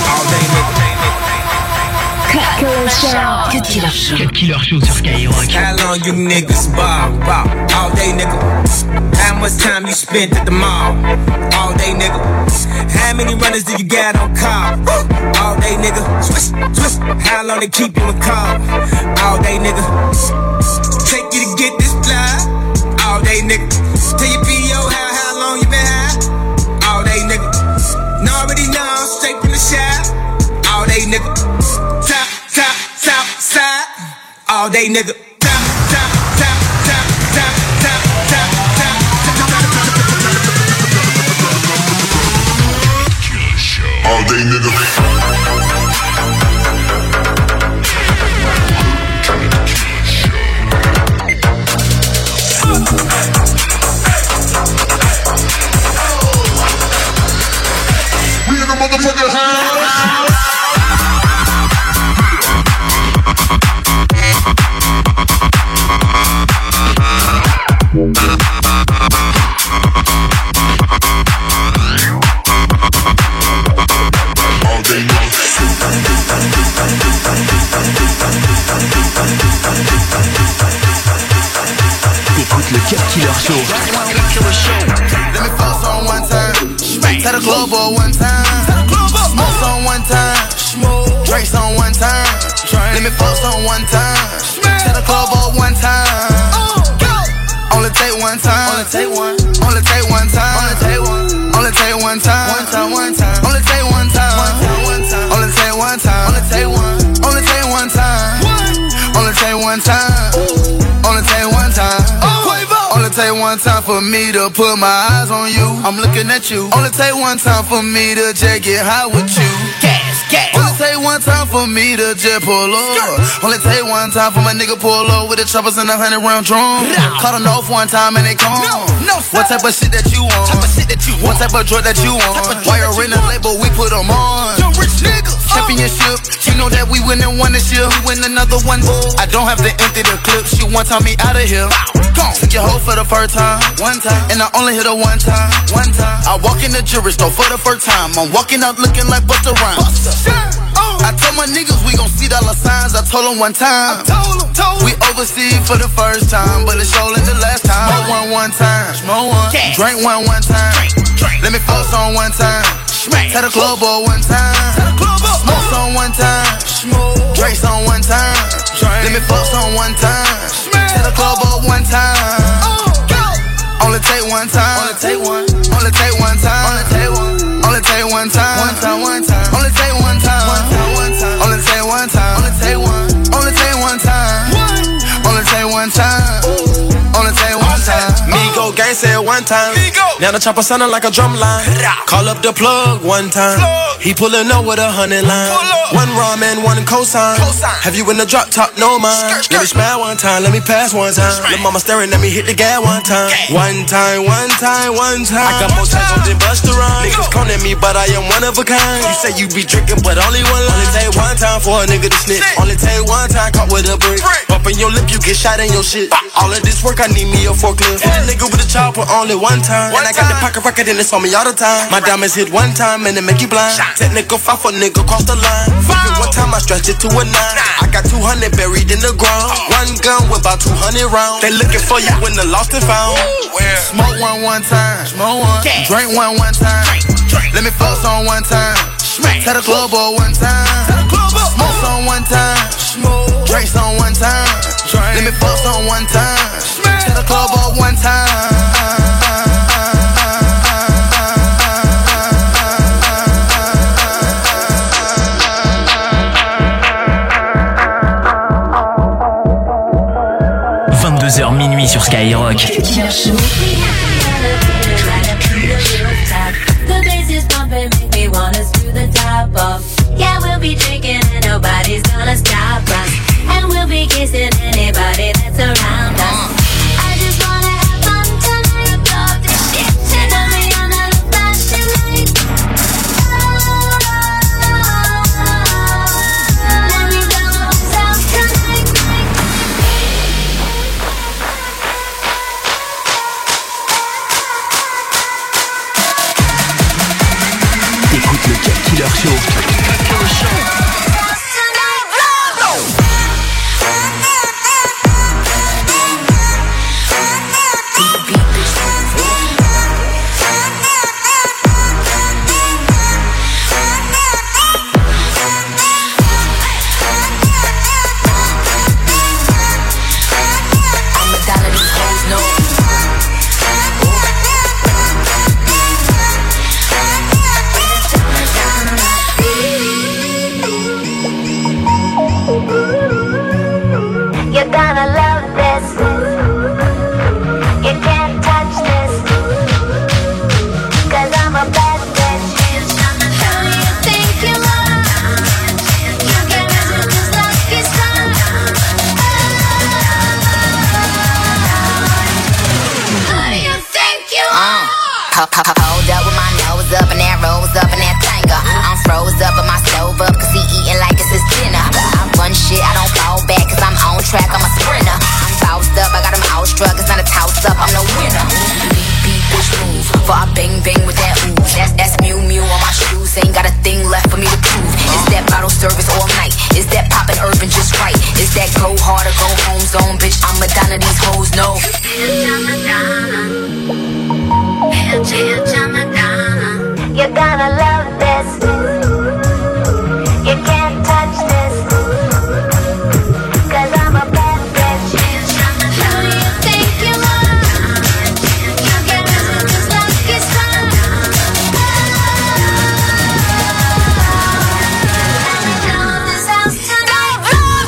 Speaker 2: nigga.
Speaker 25: Killer Show. Cut Killer Show.
Speaker 1: Cut Killer Show sur Skyrock.
Speaker 7: How long you niggas ball, ball? All day, nigga. How much time you spent at the mall? All day, nigga. How many runners do you got on call? All day, nigga. Swish, swish. How long they keep you in call? All day, nigga. Take you to get this fly. All day, nigga. Tell your P O how, how long you been high? All day, nigga. Know already know, straight from the shop. All day, nigga. Top, top, top, side. All day, nigga. Top, top, top, top, top, top, top, top, top. All day, nigga. We in the motherfucking house.
Speaker 1: T'écoutes le Cut Killer Show.
Speaker 17: Let me fuck on one time. Tell the club on one time. Smoke on one time. Drinks on one time. Let me fuck on one time. Tell the club on one time. Only take one time. Only take one. Only take one time. Only take one. Only take one time. One time. One time. Only take one time. One time. One time. Only take one time. Only take one. Only take one time. Only take one time. Only take one time. Only take one time for me to put my eyes on you. I'm looking at you. Only take one time for me to just get high with you. Gas, gas. Only take one time for me to just pull up. Only take one time for my nigga pull up with the choppers and a hundred round drum. Caught them off one time and they come. No, no, what type of shit that you want? Type of shit that you want. What type of drug that you want? Why you're in the label, we put them on. Yo, rich niggas. Championship. You know that we win and won this year. We win another one. I don't have to empty the clip. She one time me out of here. Took your hoe for the first time, one time, and I only hit her one time, one time. I walk in the jewelry store for the first time. I'm walking out looking like Busta Rhymes. I told my niggas we gon' see dollar signs. I told them one time. We overseas for the first time, but it's showing the last time. Smoke one one time, smoke one, drink one one time. Let me fuck on one time. Tell the club on one time. Smoke on one time, drinks on one time. Let me fuck on one time. Tell the club up one time. Only take one time. Only take one. Only take one time. Only take one. Only take one time. One time. One time. Only take one time. One time. One time. Only take one time. Only take one. Only take one time. Only take one time. Only take one time.
Speaker 7: Migo gang said one time. Now the chopper sounding like a drum line. Call up the plug one time. He pulling up with a hundred line. One ramen, one cosign. Have you in the drop top? No mind. Let me smile one time. Let me pass one time. Lil' mama staring at me. Hit the gas one time. One time, one time, one time. I got more time than Busta Rhymes. Niggas come at me, but I am one of a kind. You say you be drinking, but only one line. Only take one time for a nigga to snitch. Only take one time caught with a brick. Bumping your lip, you get shot in your shit. All of this work, I need me a forklift. Hit a nigga with a chopper only one time. And I got the pocket record and it's on me all the time. My diamonds hit one time and it make you blind. Technical five for nigga cross the line. Fucking one time I stretched it to a nine. I got two hundred buried in the ground. One gun with about two hundred rounds. They looking for you when the lost and found.
Speaker 17: Smoke one one time. Smoke one. Drink one one time. Let me fuck on one time. Tell the club on one time. Smoke on one time. Drinks on one time. Let me fuck on one time. Tell the club on one time.
Speaker 12: Party sur Skyrock.
Speaker 5: The bass is pumping, make me wanna screw the top off. Yeah, we'll be drinking and nobody's gonna stop us. And we'll be kissing anybody that's around us. I just wanna have fun tonight. Love this shit. Turn me on a flashing light. Let me go south tonight.
Speaker 27: Écoute le Cut Killer Show.
Speaker 11: Hold up with my nose up and that rose up and that tanga. I'm froze up and my stove up cause he eating like it's his dinner. I run shit, I don't fall back cause I'm on track, I'm a sprinter. I'm bossed up, I got him outstruck, it's not a toss up, I'm the winner. Beat, beat, bitch move, for I bang bang with that ooh. That's, that's Mew Mew on my shoes, ain't got a thing left for me to prove. It's that bottle service all night, it's that poppin' urban just right. It's that go hard or go home zone, bitch, I'm Madonna, these hoes know.
Speaker 5: You're gonna love this. You can't touch this. Cause I'm a bad bitch. Who do you think you are? You get this just like it's fun. This house tonight.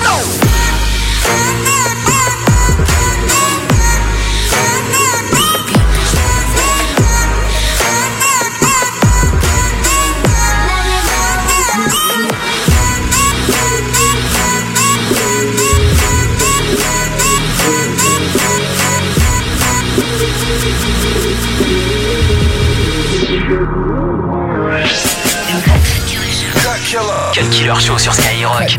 Speaker 12: Cut Killer Show sur Skyrock.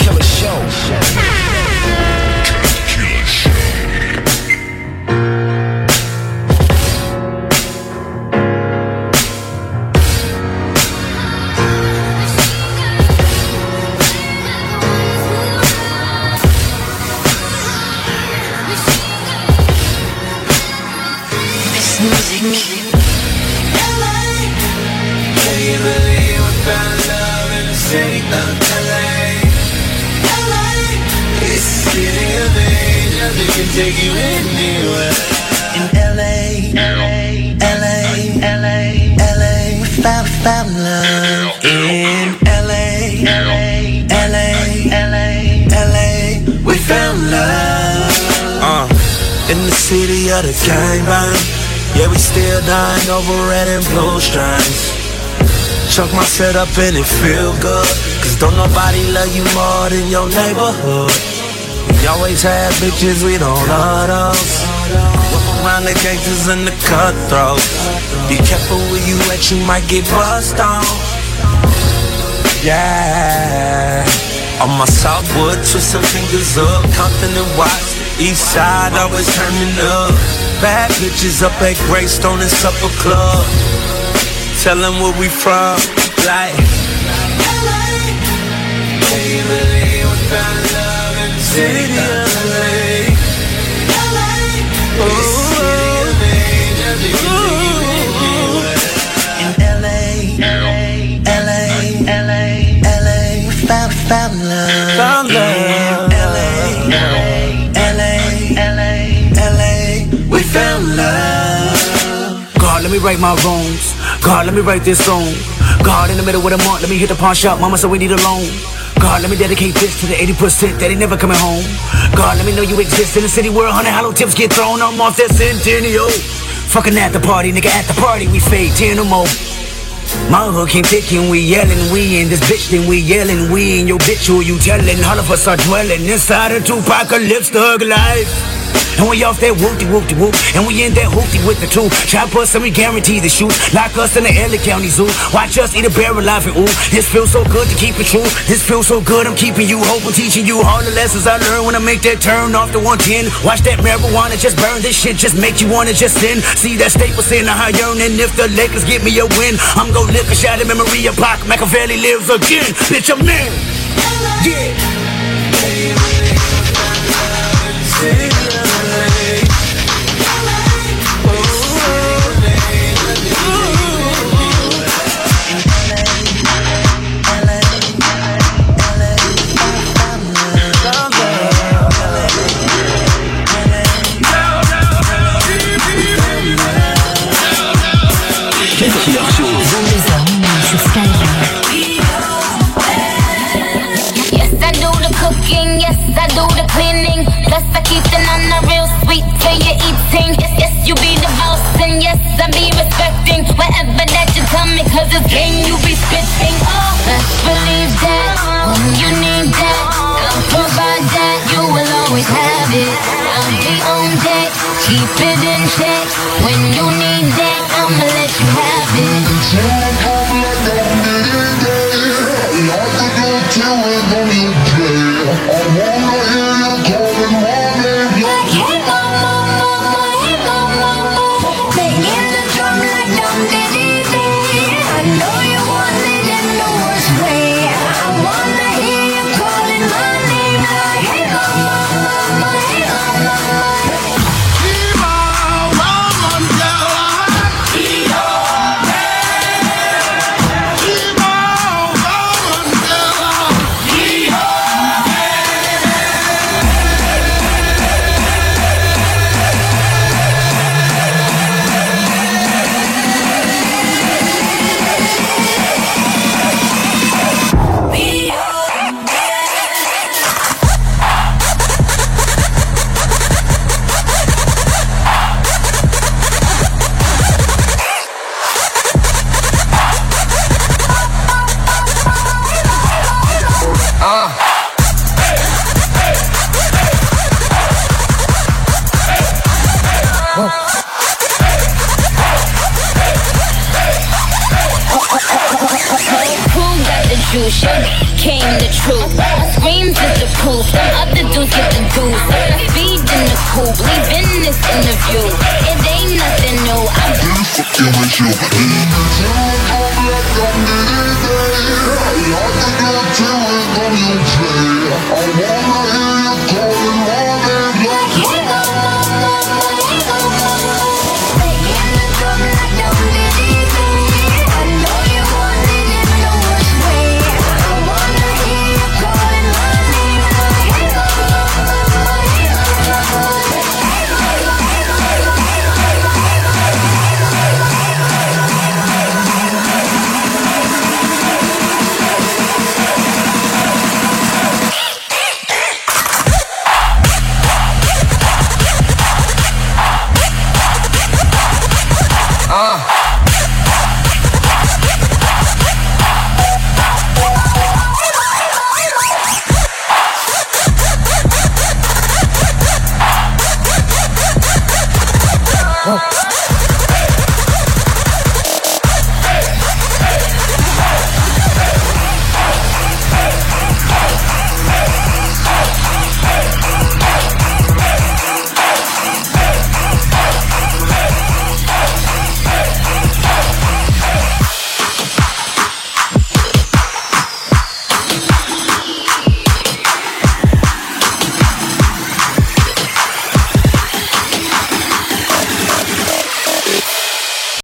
Speaker 2: Take you anywhere. In L A, L A, L A, L A, L A, we found, found love. In L A, L A, L A, L A, L A, we found love. Uh, in the city of the gangbang, yeah, we still dying over red and blue strings. Chuck my set up and it feel good, cause don't nobody love you more than your neighborhood. We always have bitches, we don't love those. Walk around the gangsters and the cutthroats. Be careful where you at, you might get bust on. Yeah. On my Southwood, twist some fingers up. Compton and Watts, East Side always turning up. Bad bitches up at Greystone and Supper Club. Tell them where we from, like L A. Can you believe we found love in the city of L A? L A, the city of angels, you can take you anywhere. In L A, L A, L A, L A, L A, we found, found love. Found love. In L A, L A, L A, L A, L A, we found love.
Speaker 14: God, let me right my wrongs. God, let me write this song. God, in the middle of the month, let me hit the pawn shop. Mama said we need a loan. God, let me dedicate this to the eighty percent that ain't never coming home. God, let me know you exist in the city where a hundred hollow tips get thrown. I'm off that Centennial. Fucking at the party, nigga, at the party we fade ten or more. My hood came thick and we yelling, we in this bitch, then we yelling, we in your bitch, who you telling? All of us are dwelling inside a two-apocalypse thug life. And we off that whoopty-whoopty-whoop, and we in that hoopty with the two. Chop us and we guarantee the shoot. Lock us in the L A County Zoo. Watch us eat a bear alive and ooh. This feels so good to keep it true. This feels so good, I'm keeping you hope. I'm teaching you all the lessons I learned when I make that turn off the one ten. Watch that marijuana just burn. This shit just make you wanna just sin. See that Staples in a high yearning. If the Lakers get me a win, I'm gon' lick a shot of memory of Pac. Machiavelli lives again. Bitch, I'm in. Yeah.
Speaker 5: Yes, I do the cleaning. Plus I keep the nana real sweet till you're eating. Yes, yes, you be the boss and yes, I be respecting whatever that you tell me, cause it's game you be spitting. Oh, best believe that when you need that, I'll provide that. You will always have it. I'll be on deck, keep it in check. When you need that, I'ma let you have it. Came the truth. My screams is the proof. Them other dudes get the goose. I'm speed in the coupe, leaving this interview. It ain't nothing new. I'm fucking with you.